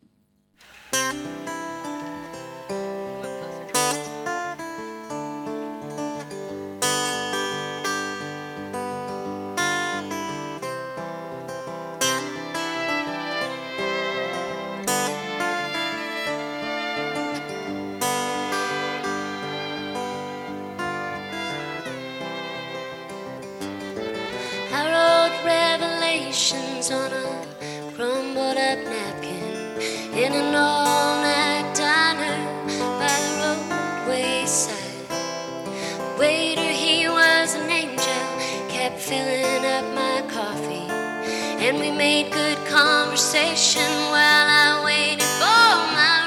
[SPEAKER 8] On a crumbled up napkin in an all-night diner by the roadway side. The waiter, he was an angel, kept filling up my coffee, and we made good conversation while I waited for my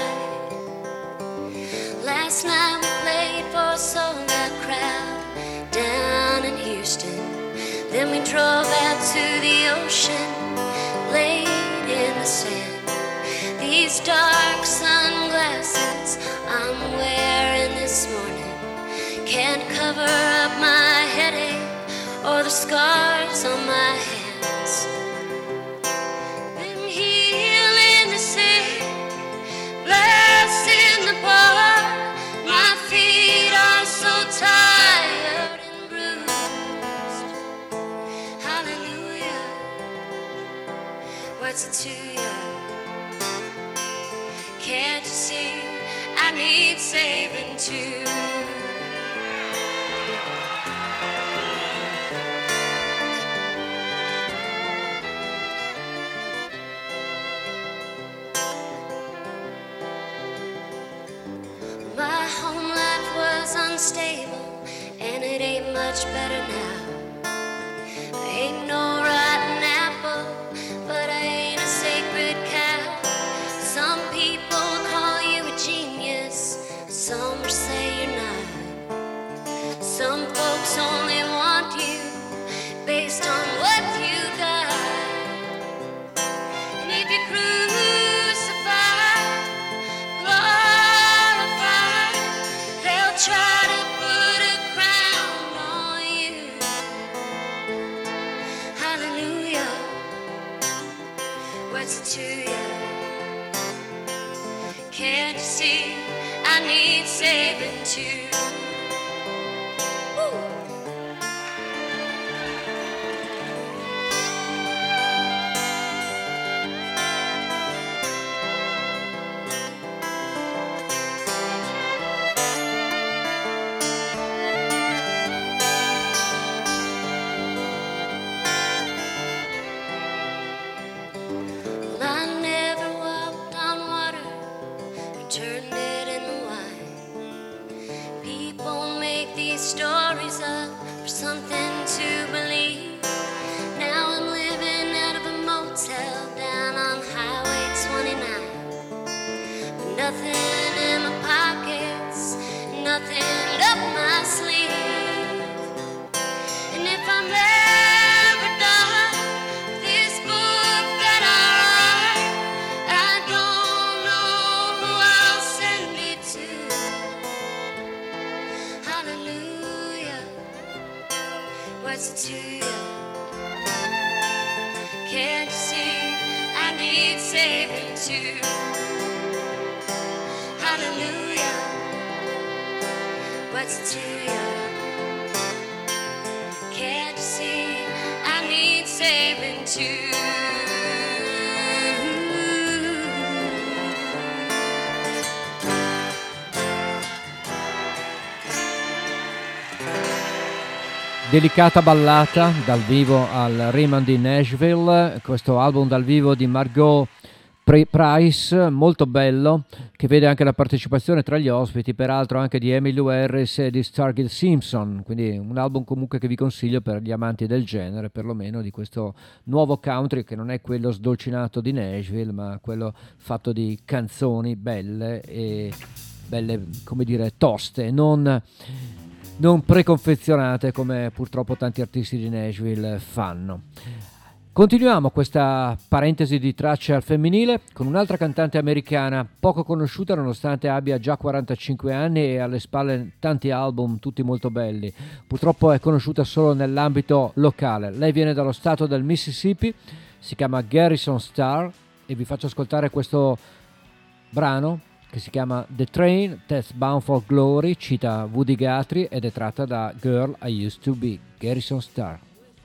[SPEAKER 8] ride. Last night we played for a sold-out crowd down in Houston. Then we drove out to the ocean, laid in the sand. These dark sunglasses I'm wearing this morning can't cover up my headache or the scars on my hands. Been healing the sick, blessing the poor. My feet are so tired and bruised. Hallelujah, what's it to you? Can't you see I need saving too? My home life was unstable, and it ain't much better now. I ain't no rotten apple, but I ain't a sacred cow. Some people call you a genius, some say you're not. Some folks only want you based on what you got. And if you crucify, glorify, they'll try to put a crown on you. Hallelujah, what's it to you? Can't you see I need saving too? Woo. Well, I never walked on water, turned it into wine. People make these stories up for something to believe. Now I'm living out of a motel down on Highway 29. With nothing in my pockets, nothing up my sleeve. And if I'm ever done with this book that I write, I don't know who I'll send it to. Hallelujah, what's it to you? Can't you see I need saving too? Hallelujah, what's it to you? Can't you see I need saving too?
[SPEAKER 1] Delicata ballata dal vivo al Riemann di Nashville, questo album dal vivo di Margot Price, molto bello, che vede anche la partecipazione tra gli ospiti, peraltro anche di Emmylou Harris e di Stargate Simpson, quindi un album comunque che vi consiglio per gli amanti del genere, perlomeno di questo nuovo country, che non è quello sdolcinato di Nashville, ma quello fatto di canzoni belle e belle, come dire, toste, non preconfezionate come purtroppo tanti artisti di Nashville fanno. Continuiamo questa parentesi di tracce al femminile con un'altra cantante americana poco conosciuta nonostante abbia già 45 anni e alle spalle tanti album, tutti molto belli. Purtroppo è conosciuta solo nell'ambito locale. Lei viene dallo stato del Mississippi, si chiama Garrison Starr e vi faccio ascoltare questo brano che si chiama The Train That's Bound for Glory, cita Woody Guthrie ed è tratta da Girl I Used to Be, Garrison Starr.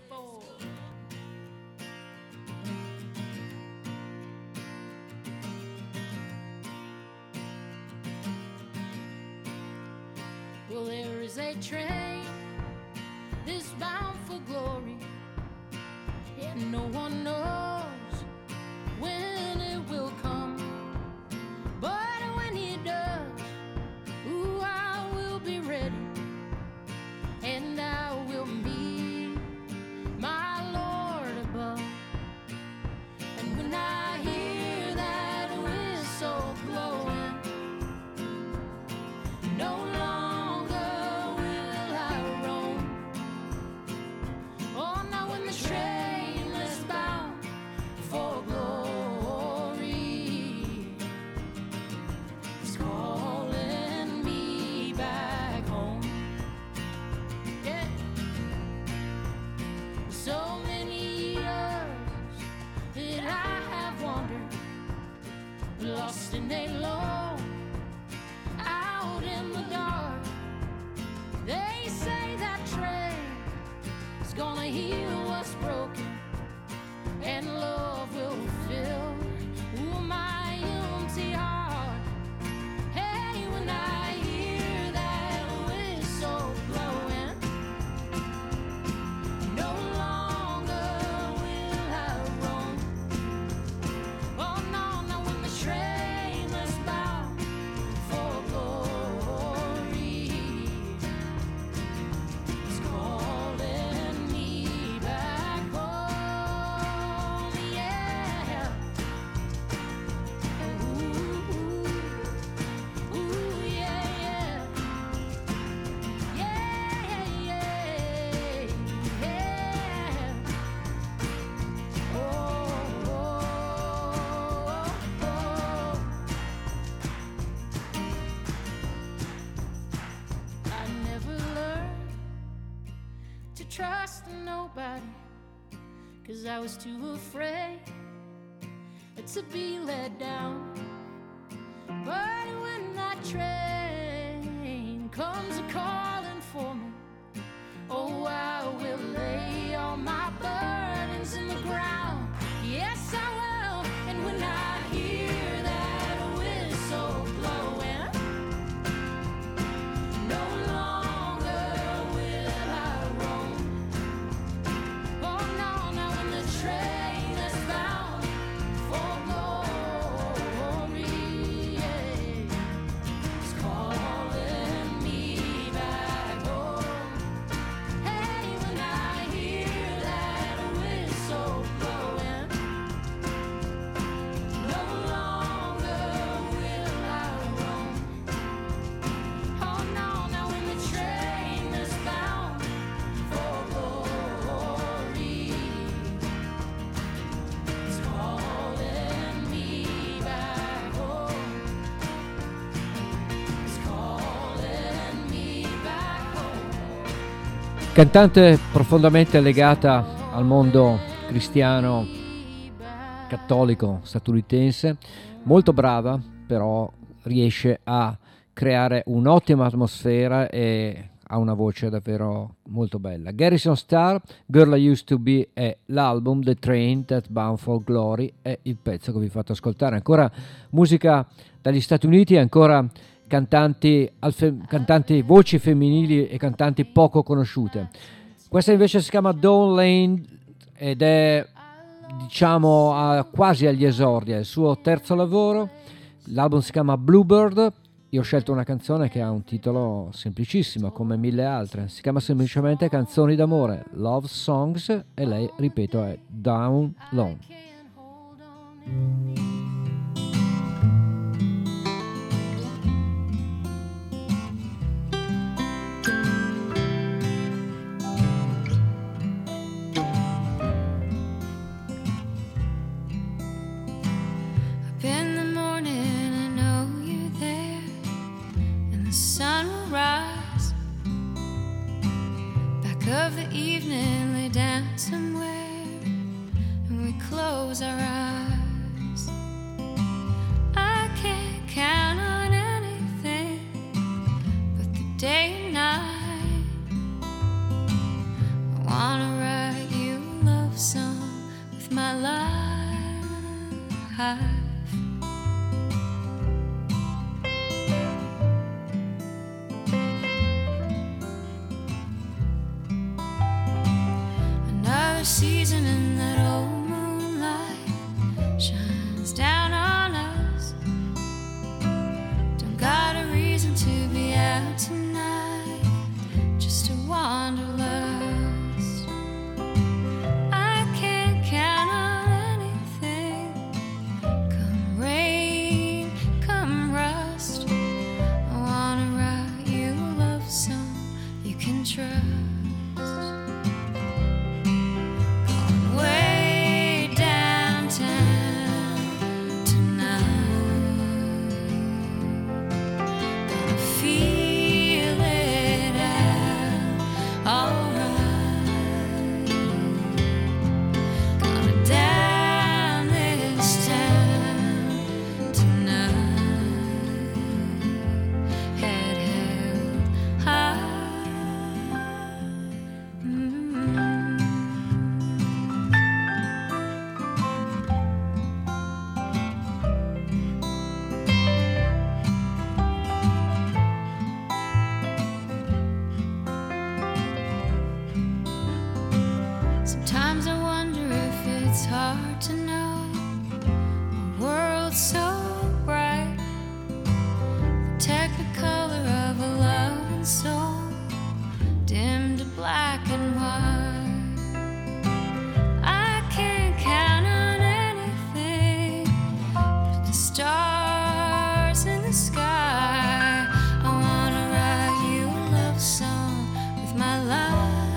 [SPEAKER 9] Well, there is a train that's bound for glory, and no one knows when it will come. But when it does, ooh, I will be ready, and I will meet my Lord above. And when I hear that whistle blowing, no longer will I roam. Oh, now when the train is bound for glory, it's calling me back home. Yeah. So many years that I have wandered, lost and alone, out in the dark. They say that train is gonna heal what's broken, and love will fill, ooh, my empty heart. Hey, when I hear that whistle blowing, no longer will I roam. Oh no, no, when the train is bound for glory, it's calling me back home, yeah. Ooh, ooh, yeah, yeah. Yeah, yeah, yeah. Oh, oh, oh. I never learned to trust nobody, 'cause I was too afraid to be let down. But when that train comes a-calling for me, oh, I will lay all my burdens in the ground. Yes, I will. And when I hear that whistle blowing, no longer will I roam. Oh no, now when the train is bound for glory, yeah, it's calling me back home. Hey, when I hear that whistle blowing, no longer will I roam. Oh no, now when the train is bound for glory, it's calling me back home. It's calling me back home.
[SPEAKER 1] Cantante profondamente legata al mondo cristiano cattolico statunitense, molto brava, però riesce a creare un'ottima atmosfera e ha una voce davvero molto bella. Garrison Starr, Girl I Used to Be è l'album, The Train That's Bound for Glory è il pezzo che vi ho fatto ascoltare. Ancora musica dagli Stati Uniti, ancora cantanti, voci femminili e cantanti poco conosciute. Questa invece si chiama Dawn Lane ed è diciamo quasi agli esordi, è il suo terzo lavoro, l'album si chiama Bluebird. Io ho scelto una canzone che ha un titolo semplicissimo come mille altre, si chiama semplicemente Canzoni d'amore, Love Songs, e lei, ripeto, è Down Low.
[SPEAKER 4] Sunrise, back of the evening, lay down somewhere, and we close our eyes. I can't count on anything but the day and night. I wanna write you a love song with my life. Season in that old moonlight shines down on us. Don't got a reason to be out tonight, just to wander lost. I can't count on anything, come rain, come rust. I wanna write you a love song you can trust. Way downtown tonight, gonna feel it out, alright. Gonna down this town tonight, head held high. Sometimes I wonder if it's hard to know a world so bright, the technicolor of a love and soul, dimmed to black and white. I can't count on anything but the stars in the sky. I wanna write you a love song with my life.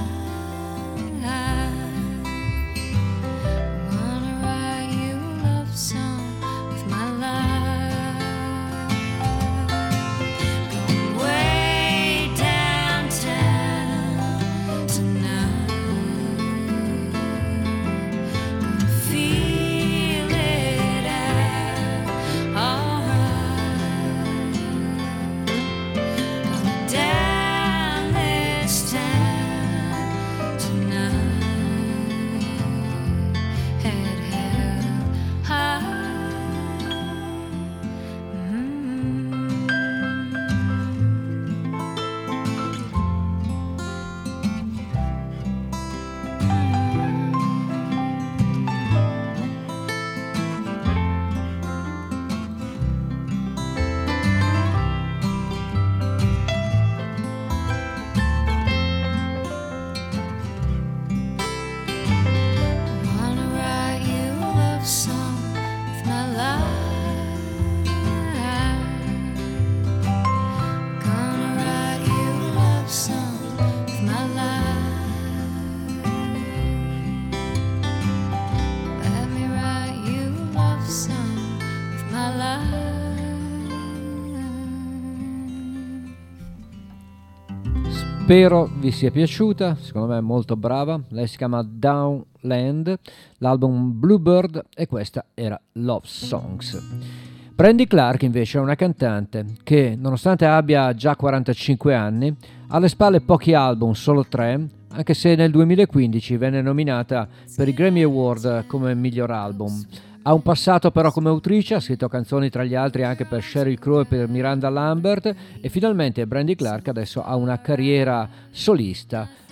[SPEAKER 1] Spero vi sia piaciuta, secondo me è molto brava. Lei si chiama Downland, l'album Bluebird, e questa era Love Songs. Brandi Clark invece è una cantante che, nonostante abbia già 45 anni, ha alle spalle pochi album, solo 3, anche se nel 2015 venne nominata per i Grammy Award come miglior album. Ha un passato però come autrice, ha scritto canzoni tra gli altri anche per Sheryl Crow e per Miranda Lambert, e finalmente Brandi Clark adesso ha una carriera solista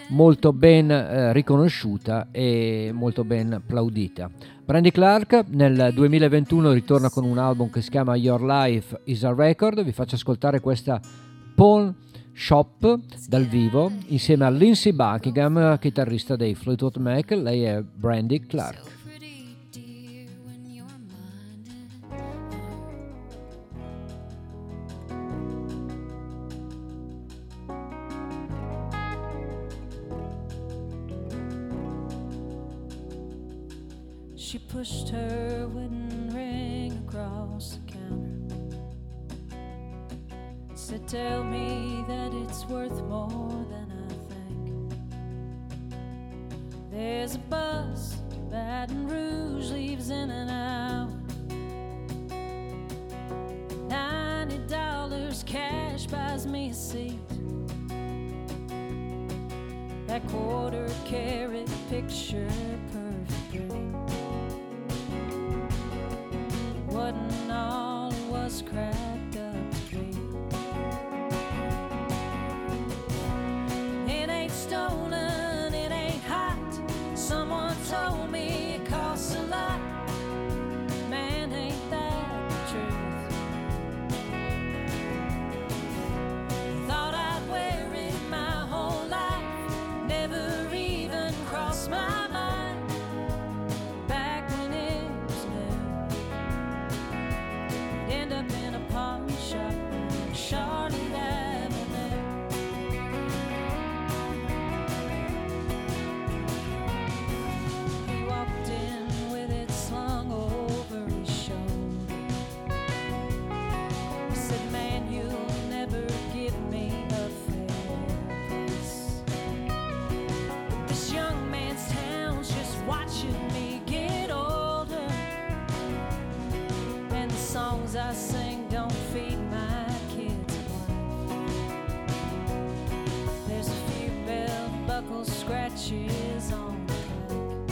[SPEAKER 1] molto ben riconosciuta e molto ben applaudita. Brandy Clark nel 2021 ritorna con un album che si chiama Your Life is a Record. Vi faccio ascoltare questa Pawn Shop dal vivo insieme a Lindsey Buckingham, chitarrista dei Fleetwood Mac. Lei è Brandy Clark.
[SPEAKER 10] She pushed her wooden ring across the counter. Said, tell me that it's worth more than I think. There's a bus to Baton Rouge, leaves in an hour. $90 cash buys me a seat. That quarter carat picture perfect dream wasn't all it was cracked up to be. It ain't stolen, it ain't hot. Someone told me it costs a lot. Man, ain't that the truth? Thought I'd wear it my whole life, never even crossed my mind. Back when it was new, end up in a pawn shop on Charlotte Avenue. He walked in with it slung over his shoulder. He said, man, you'll never give me a fair price. This young man's town's just watching me get older, and the songs I sing don't feed my kids' life. There's a few belt buckle scratches on the back,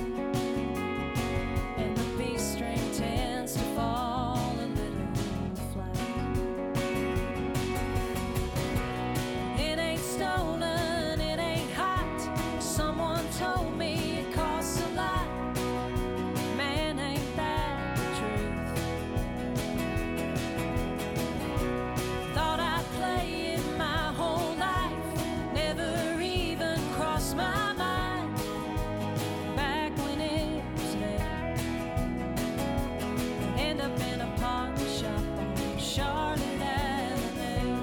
[SPEAKER 10] and the B string tends to fall a little flat. It ain't stolen, it ain't hot. Someone told me it costs a lot. Man, ain't that the truth? Thought I'd play it my whole life, never even crossed my mind. Back when it was there, end up in a pawn shop on Charlotte Avenue.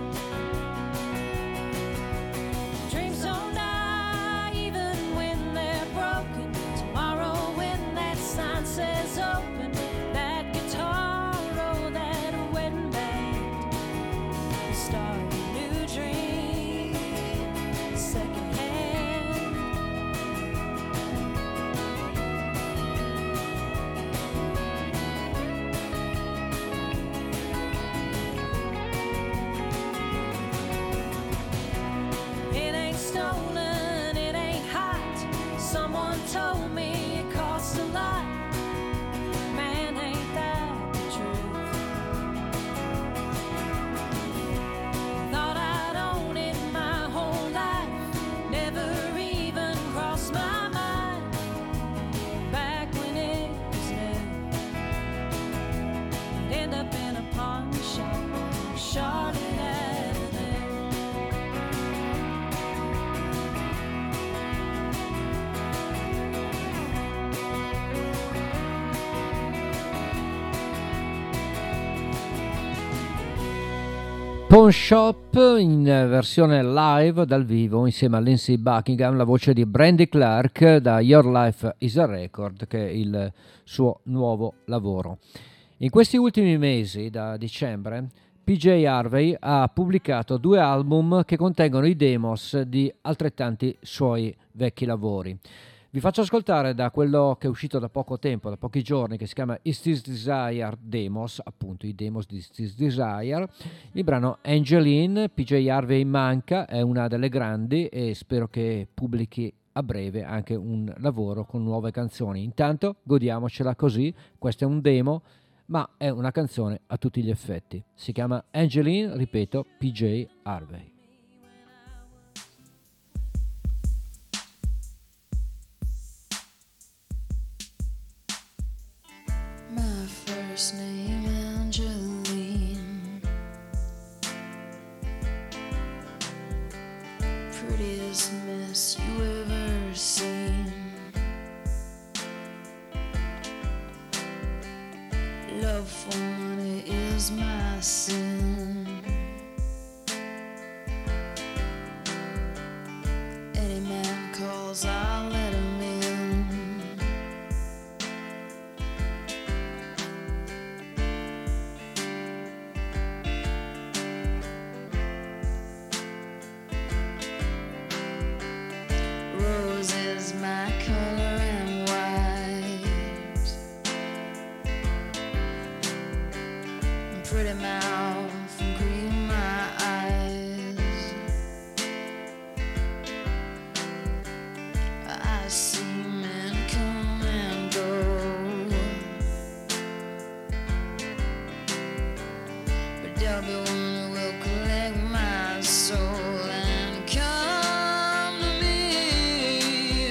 [SPEAKER 10] Dreams don't die even when they're broken. Tomorrow when that sign says open, that guitar or that wedding band will start a new dream, second hand. It ain't stolen, it ain't hot. Someone told me it costs a lot. Man, ain't that the truth? Thought I'd own it my whole life, never even crossed my mind. Back when it was new, end up in a pawn shop on Charlotte Avenue.
[SPEAKER 1] Pawn Shop in versione live dal vivo insieme a Lindsey Buckingham, la voce di Brandy Clark da Your Life is a Record, che è il suo nuovo lavoro. In questi ultimi mesi, da dicembre, PJ Harvey ha pubblicato 2 album che contengono i demos di altrettanti suoi vecchi lavori. Vi faccio ascoltare da quello che è uscito da poco tempo, da pochi giorni, che si chiama Is This Desire Demos, appunto i demos di Is This Desire, il brano Angeline. PJ Harvey manca, è una delle grandi e spero che pubblichi a breve anche un lavoro con nuove canzoni. Intanto godiamocela così, questo è un demo, ma è una canzone a tutti gli effetti. Si chiama Angeline, ripeto, PJ Harvey.
[SPEAKER 4] first name Angeline. Prettiest mess you ever seen. Love for money is my sin. Any man calls, I'll let him in. Rose is my color and white. Pretty mouth and green my eyes. I see men come and go, but there'll be one who will collect my soul and come to me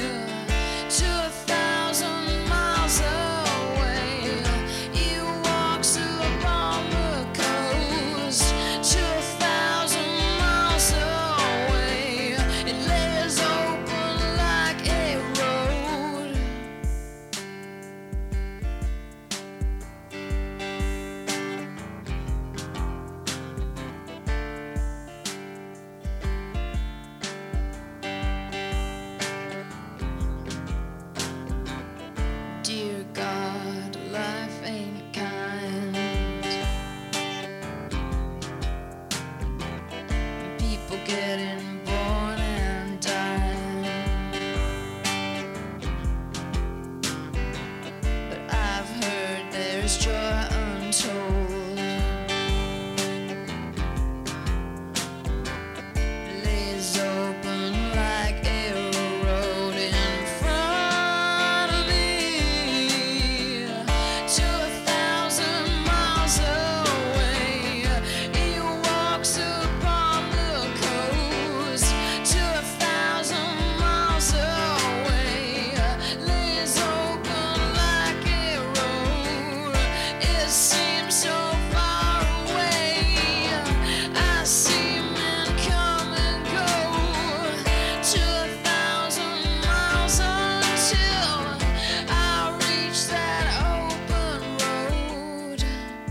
[SPEAKER 4] 2,000 miles away. You walks upon the coast 2,000 miles away. It lays open like a road. Dear God, life ain't kind. People getting born and dying. But I've heard there's joy untold. Lays open like a road in front of me 2,000 miles away. He walks upon the coast 2,000 miles away. Lays open like a road. It seems so far away. I see men come and go 2,000 miles until I reach that open road.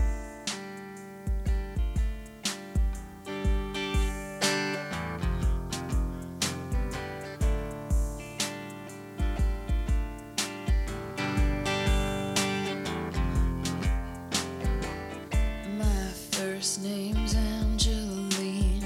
[SPEAKER 4] My first name's Angeline.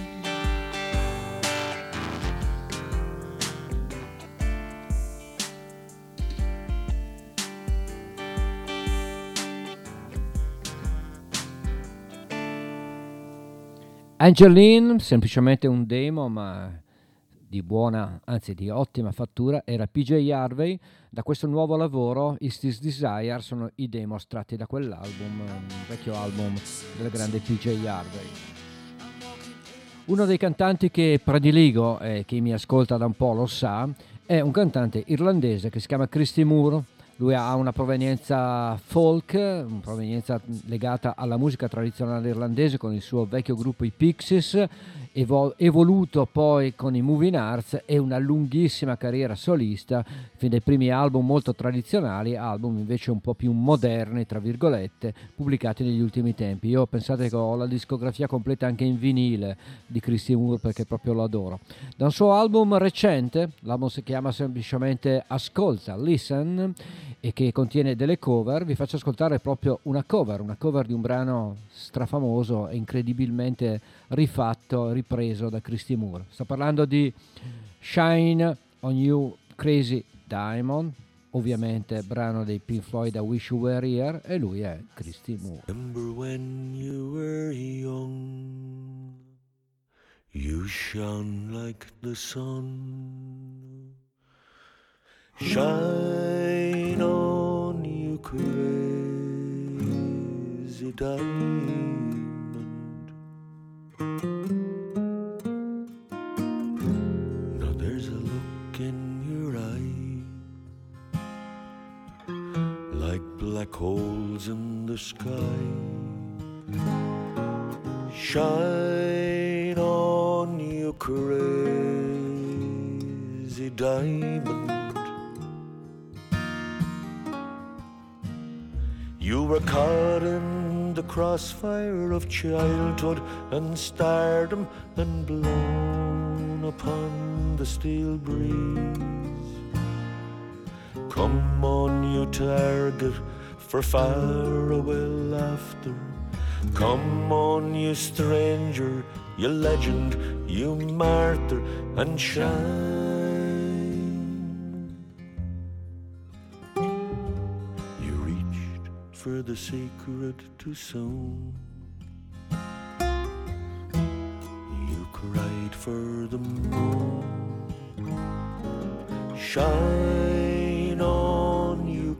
[SPEAKER 1] Angeline, semplicemente un demo, ma di buona, anzi di ottima fattura, era PJ Harvey. Da questo nuovo lavoro, Is This Desire, sono i demo estratti da quell'album, un vecchio album del grande PJ Harvey. Uno dei cantanti che prediligo, e chi mi ascolta da un po' lo sa, è un cantante irlandese che si chiama Christy Moore. Lui ha una provenienza folk, una provenienza legata alla musica tradizionale irlandese con il suo vecchio gruppo i Pixies, evoluto poi con i Moving Arts, e una lunghissima carriera solista, fin dai primi album molto tradizionali, album invece un po' più moderni, tra virgolette, pubblicati negli ultimi tempi. Io pensate che ho la discografia completa anche in vinile di Christy Moore perché proprio lo adoro. Da un suo album recente, l'album si chiama semplicemente Ascolta, Listen, e che contiene delle cover, vi faccio ascoltare proprio una cover di un brano strafamoso e incredibilmente rifatto, ripreso da Christy Moore. Sto parlando di Shine on You Crazy Diamond, ovviamente brano dei Pink Floyd, I Wish You Were Here, e lui è Christy Moore.
[SPEAKER 11] Remember when you were young, you shone like the sun. Shine on, you crazy diamond. Now there's a look in your eye like black like holes in the sky. Shine on, you crazy diamond. You were caught in the crossfire of childhood and stardom and blown upon the steel breeze. Come on, you target for faraway laughter. Come on, you stranger, you legend, you martyr, and shine. You reached for the sacred too soon. You cried for the moon. Shine on, you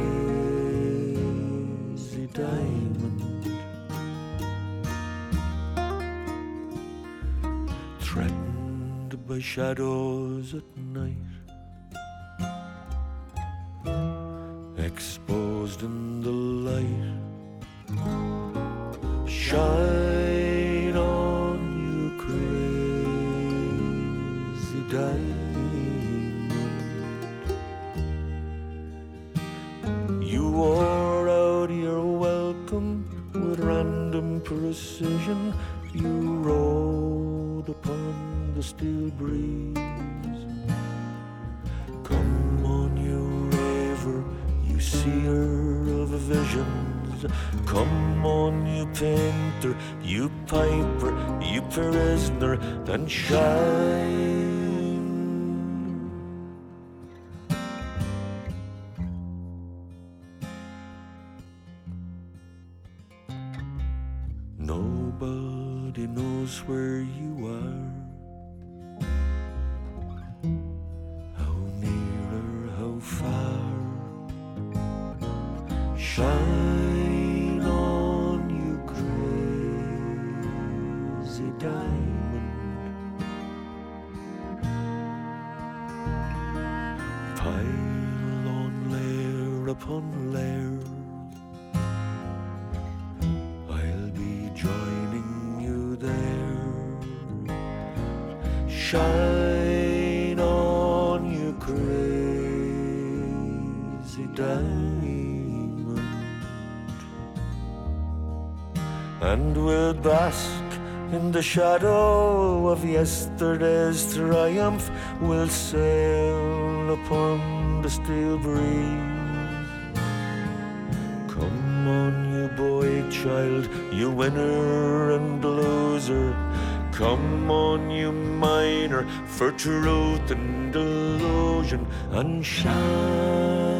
[SPEAKER 11] crazy diamond. Threatened by shadows at night, exposed in the light. Shine on, you crazy diamond. You wore out your welcome with random precision. You rode upon the steel breeze. Come on, you raver, you seer of visions. Come on, you painter, you piper, you prisoner, and shine. Nobody knows where you are, how near or how far. Shine on, you crazy diamond. Pile on layer upon layer, joining you there. Shine on, you crazy diamond, and we'll bask in the shadow of yesterday's triumph. We'll sail upon the steel breeze. Come on, you boy child, you winner and loser. Come on, you miner for truth and illusion, and shine.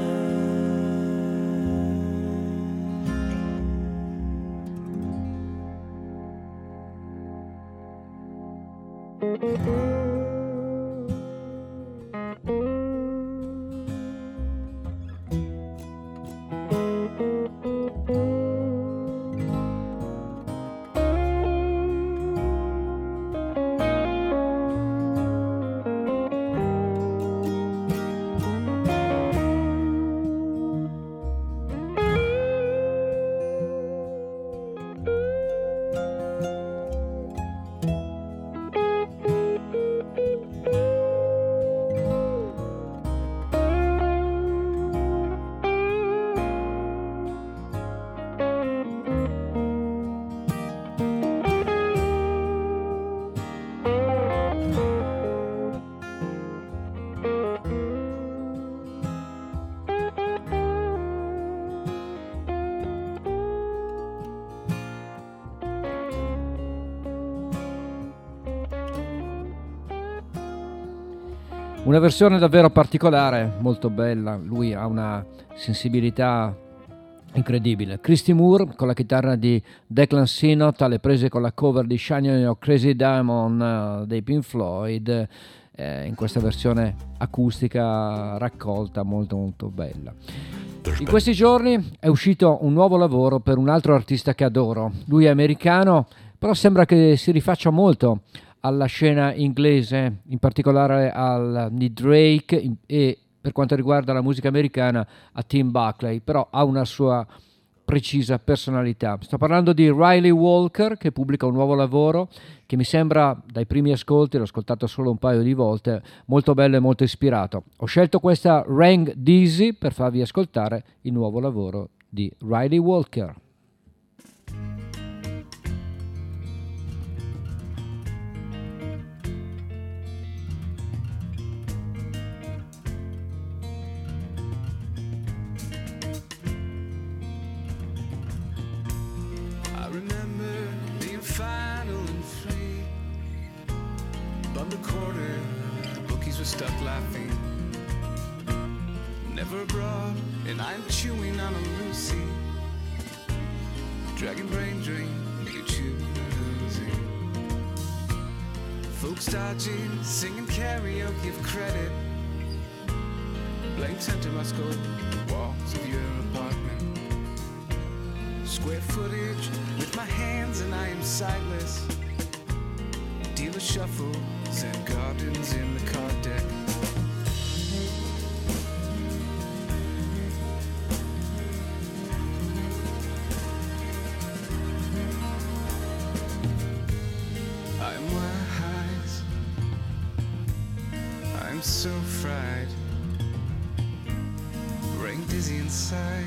[SPEAKER 1] Una versione davvero particolare, molto bella. Lui ha una sensibilità incredibile. Christy Moore con la chitarra di Declan Synot, alle prese con la cover di Shine On Your Crazy Diamond dei Pink Floyd, in questa versione acustica raccolta molto molto bella. In questi giorni è uscito un nuovo lavoro per un altro artista che adoro. Lui è americano, però sembra che si rifaccia molto alla scena inglese, in particolare di Drake e per quanto riguarda la musica americana a Tim Buckley, però ha una sua precisa personalità. Sto parlando di Riley Walker, che pubblica un nuovo lavoro che mi sembra, dai primi ascolti, l'ho ascoltato solo un paio di volte, molto bello e molto ispirato. Ho scelto questa Rang Dizzy per farvi ascoltare il nuovo lavoro di Riley Walker.
[SPEAKER 12] I remember being final and free. Above the quarter, the bookies were stuck laughing. Never abroad, and I'm chewing on a Lucy. Dragon brain drain, you chew losing. Folks dodging, singing karaoke of credit. Blank center must go the walls of your apartment. Square footage with my hands and I am sightless. Dealer shuffles and gardens in the card deck. I'm wise, I'm so fried, brain dizzy inside.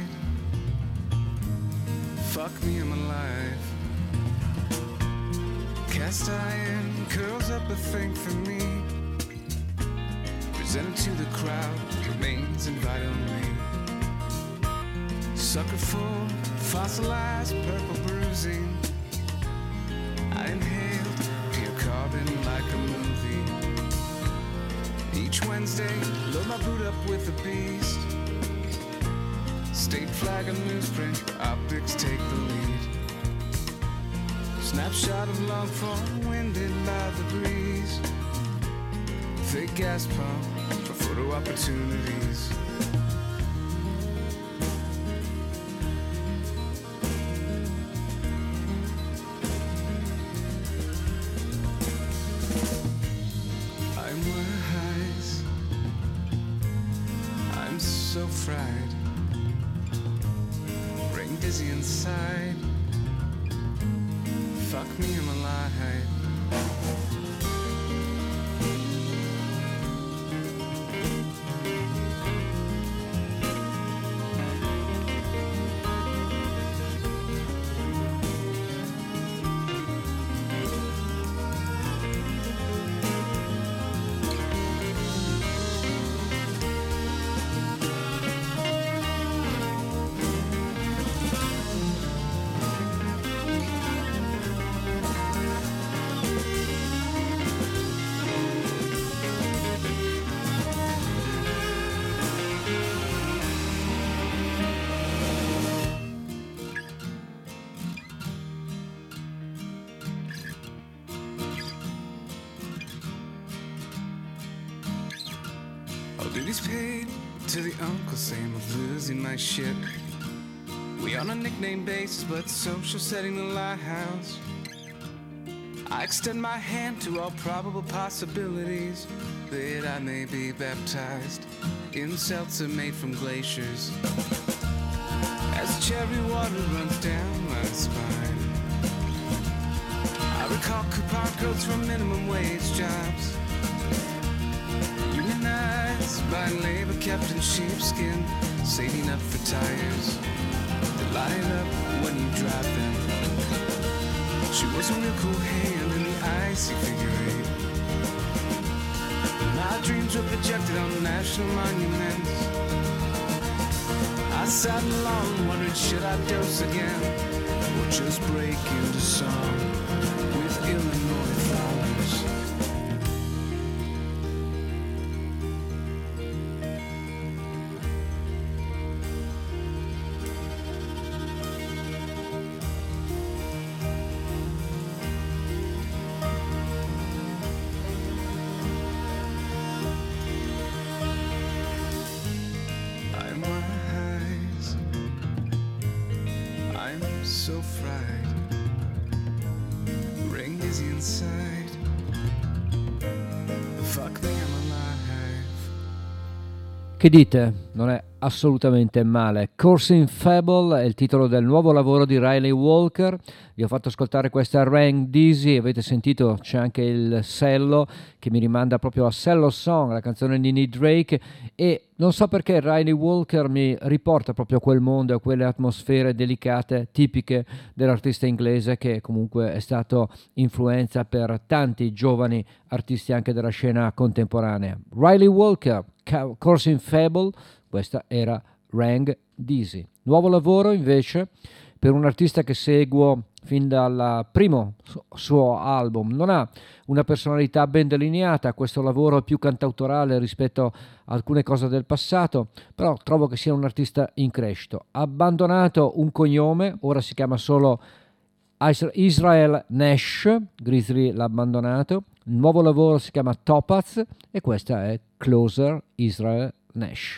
[SPEAKER 12] Fuck me, I'm alive. Cast iron curls up a thing for me. Presented to the crowd, remains invite only. Sucker full, fossilized purple bruising. I inhaled pure carbon like a movie. Each Wednesday, load my boot up with a beast. State flag and newsprint, optics take the lead. Snapshot of long form, winded by the breeze. Fake gas pump for photo opportunities. I'm wise, I'm so fried. Dizzy inside. Fuck me, I'm alive. Duties paid to the Uncle Sam of losing my shit. We on a nickname basis, but social setting the lighthouse. I extend my hand to all probable possibilities that I may be baptized in seltzer made from glaciers. As cherry water runs down my spine, I recall coupon codes from minimum wage jobs. Unionized by labor kept in sheepskin, saving up for tires that light up when you drive them. She was a real cool hand in the icy figure eight. My dreams were projected on national monuments. I sat alone wondering, should I dose again or just break into song with Illinois flowers? So fried, ring dizzy inside. Fuck me, I'm alive.
[SPEAKER 1] Che dite? Non è assolutamente male. Coursing Fable è il titolo del nuovo lavoro di Riley Walker. Vi ho fatto ascoltare questa Rank Dizzy, avete sentito c'è anche il cello che mi rimanda proprio a Cello Song, la canzone di Nick Drake, e non so perché Riley Walker mi riporta proprio a quel mondo e a quelle atmosfere delicate tipiche dell'artista inglese, che comunque è stato influenza per tanti giovani artisti anche della scena contemporanea. Riley Walker, Coursing Fable, questa era Rank Dizzy. Nuovo lavoro invece per un artista che seguo fin dal primo suo album. Non ha una personalità ben delineata, questo lavoro è più cantautorale rispetto a alcune cose del passato, però trovo che sia un artista in crescita. Ha abbandonato un cognome, ora si chiama solo Israel Nash, Grizzly l'ha abbandonato, il nuovo lavoro si chiama Topaz e questa è Closer Israel Nash.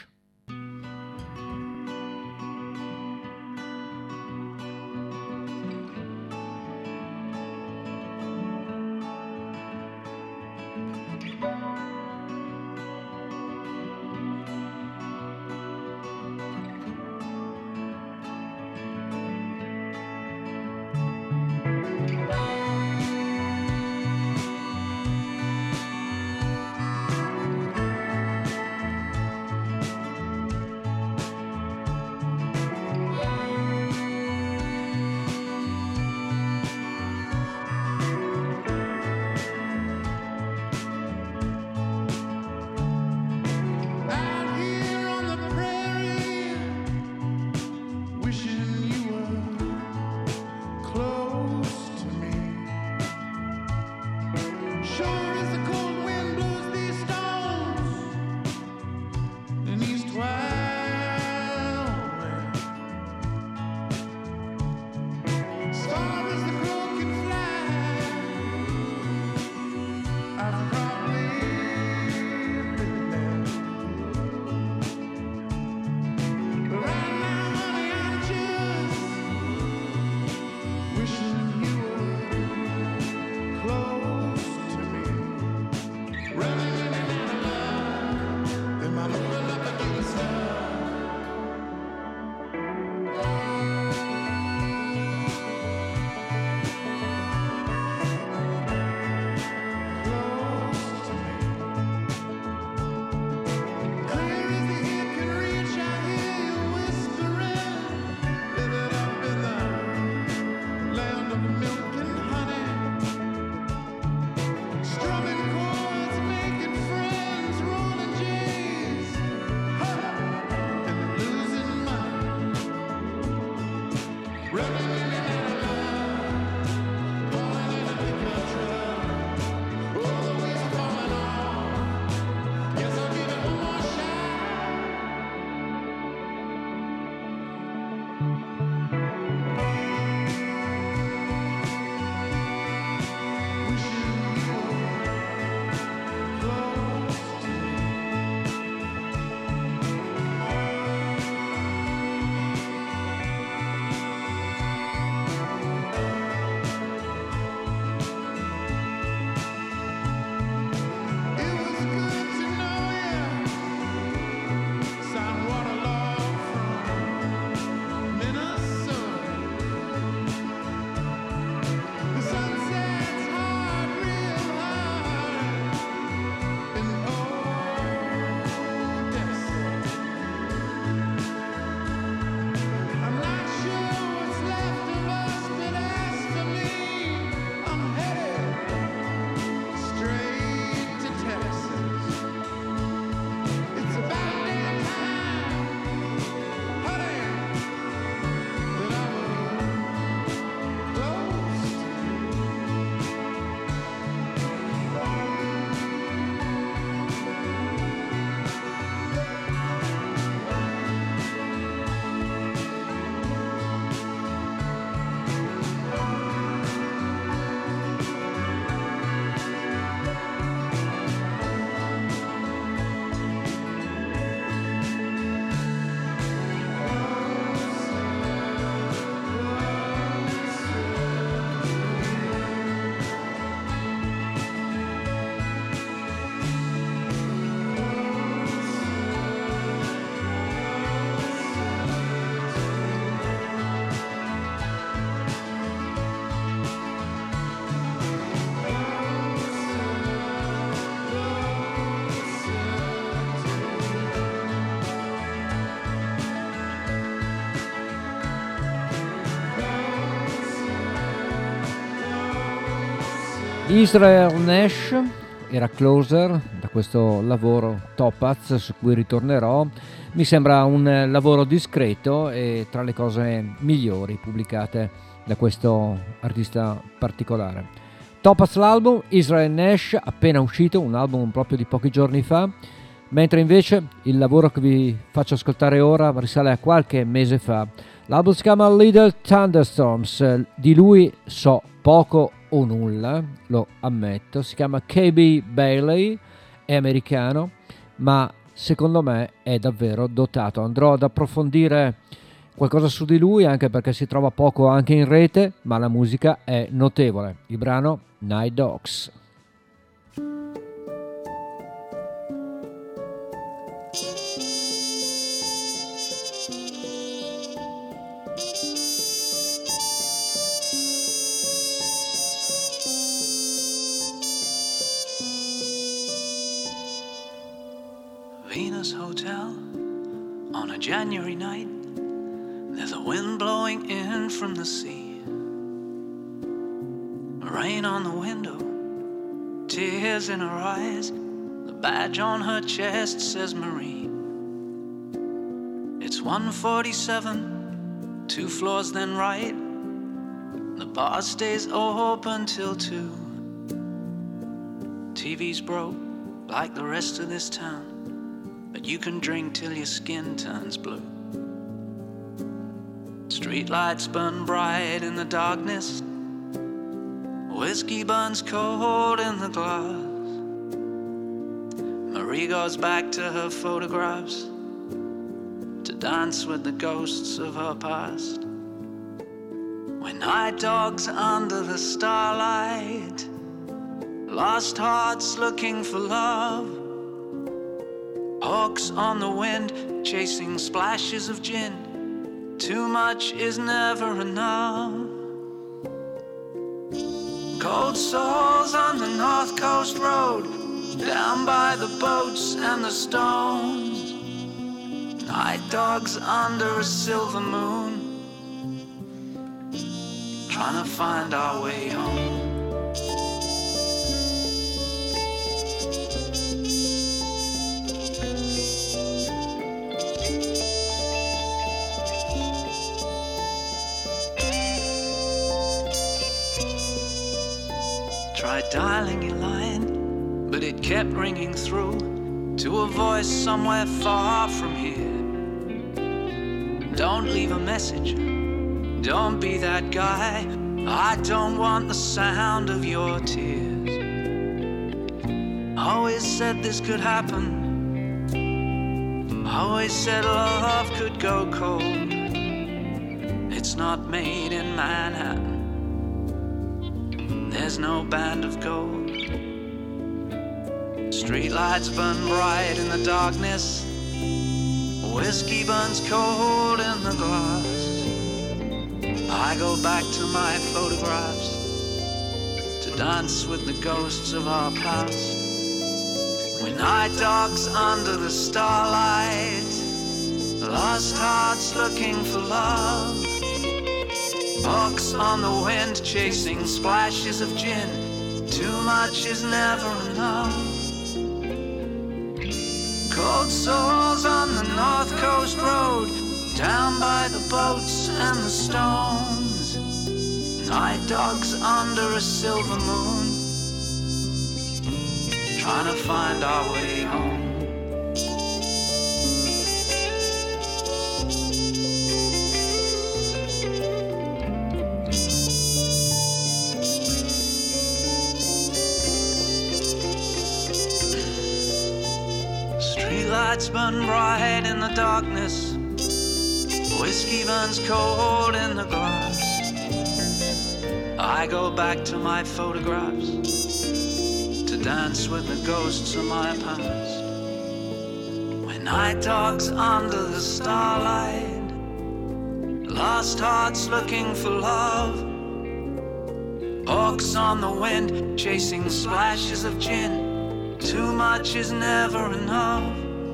[SPEAKER 1] Israel Nash era Closer, da questo lavoro Topaz su cui ritornerò. Mi sembra un lavoro discreto e tra le cose migliori pubblicate da questo artista particolare. Topaz l'album, Israel Nash appena uscito, un album proprio di pochi giorni fa, mentre invece il lavoro che vi faccio ascoltare ora risale a qualche mese fa. L'album si chiama Little Thunderstorms, di lui so poco o nulla, lo ammetto, si chiama KB Bailey, è americano, ma secondo me è davvero dotato. Andrò ad approfondire qualcosa su di lui, anche perché si trova poco anche in rete, ma la musica è notevole. Il brano Night Dogs.
[SPEAKER 13] Venus Hotel on a January night. There's a wind blowing in from the sea. Rain on the window, tears in her eyes. The badge on her chest says Marine. It's 1:47, 2 floors then right. The bar stays open till 2. TV's broke like the rest of this town, but you can drink till your skin turns blue. Streetlights burn bright in the darkness. Whiskey burns cold in the glass. Marie goes back to her photographs to dance with the ghosts of her past. When night dogs under the starlight, lost hearts looking for love. Hawks on the wind, chasing splashes of gin. Too much is never enough. Cold souls on the North Coast Road, down by the boats and the stones. Night dogs under a silver moon, trying to find our way home. Tried dialing your line, but it kept ringing through to a voice somewhere far from here. Don't leave a message, don't be that guy. I don't want the sound of your tears. Always said this could happen, always said love could go cold. It's not made in Manhattan, there's no band of gold. Streetlights burn bright in the darkness. Whiskey burns cold in the glass. I go back to my photographs to dance with the ghosts of our past. When night dogs under the starlight, lost hearts looking for love. Hawks on the wind, chasing splashes of gin. Too much is never enough. Cold souls on the North Coast Road, down by the boats and the stones. Night dogs under a silver moon, trying to find our way home. Lights burn bright in the darkness. Whiskey burns cold in the glass. I go back to my photographs to dance with the ghosts of my past. When night dogs under the starlight, lost hearts looking for love. Hawks on the wind, chasing splashes of gin. Too much is never enough.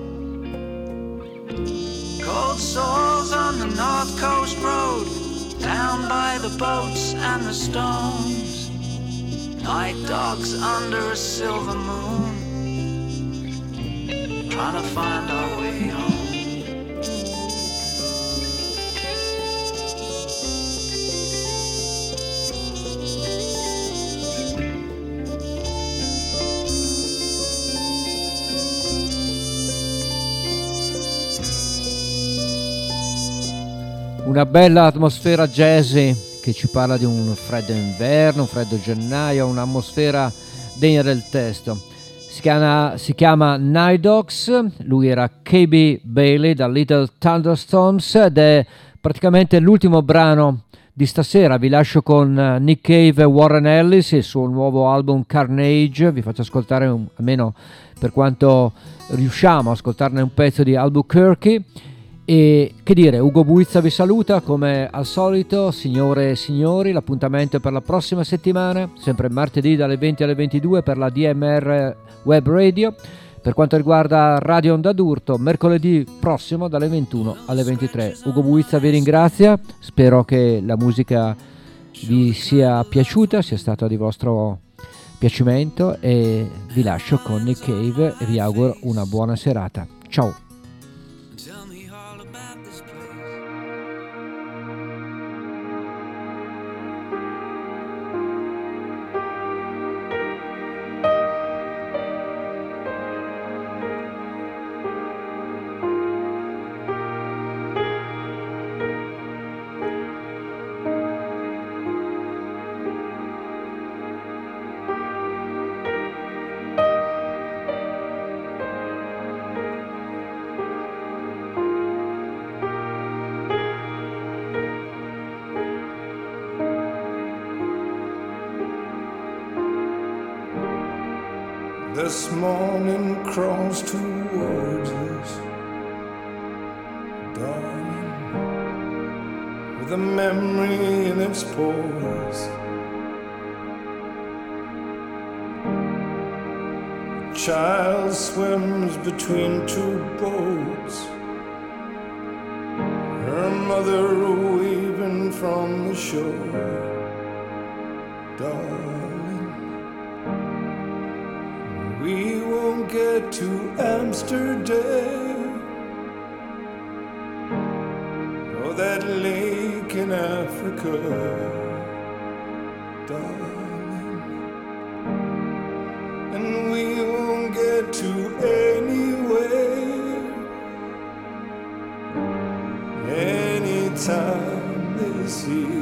[SPEAKER 13] Cold souls on the North Coast Road, down by the boats and the stones. Night dogs under a silver moon, trying to find our way home.
[SPEAKER 1] Una bella atmosfera jazzy che ci parla di un freddo inverno, un freddo gennaio, un'atmosfera degna del testo. Si chiama Night Dogs, lui era KB Bailey da Little Thunderstorms ed è praticamente l'ultimo brano di stasera. Vi lascio con Nick Cave e Warren Ellis e il suo nuovo album Carnage. Vi faccio ascoltare almeno per quanto riusciamo a ascoltarne un pezzo di Albuquerque. E che dire, Ugo Buizza vi saluta come al solito. Signore e signori, l'appuntamento è per la prossima settimana, sempre martedì dalle 20 alle 22 per la DMR Web Radio. Per quanto riguarda Radio Onda d'Urto, mercoledì prossimo dalle 21 alle 23. Ugo Buizza vi ringrazia, spero che la musica vi sia piaciuta, sia stata di vostro piacimento, e vi lascio con Nick Cave e vi auguro una buona serata. Ciao.
[SPEAKER 11] This morning crawls towards us, darling, with a memory in its pores. A child swims between two boats, her mother waving from the shore, darling. We won't get to Amsterdam or that lake in Africa, darling. And we won't get to anywhere anytime this year.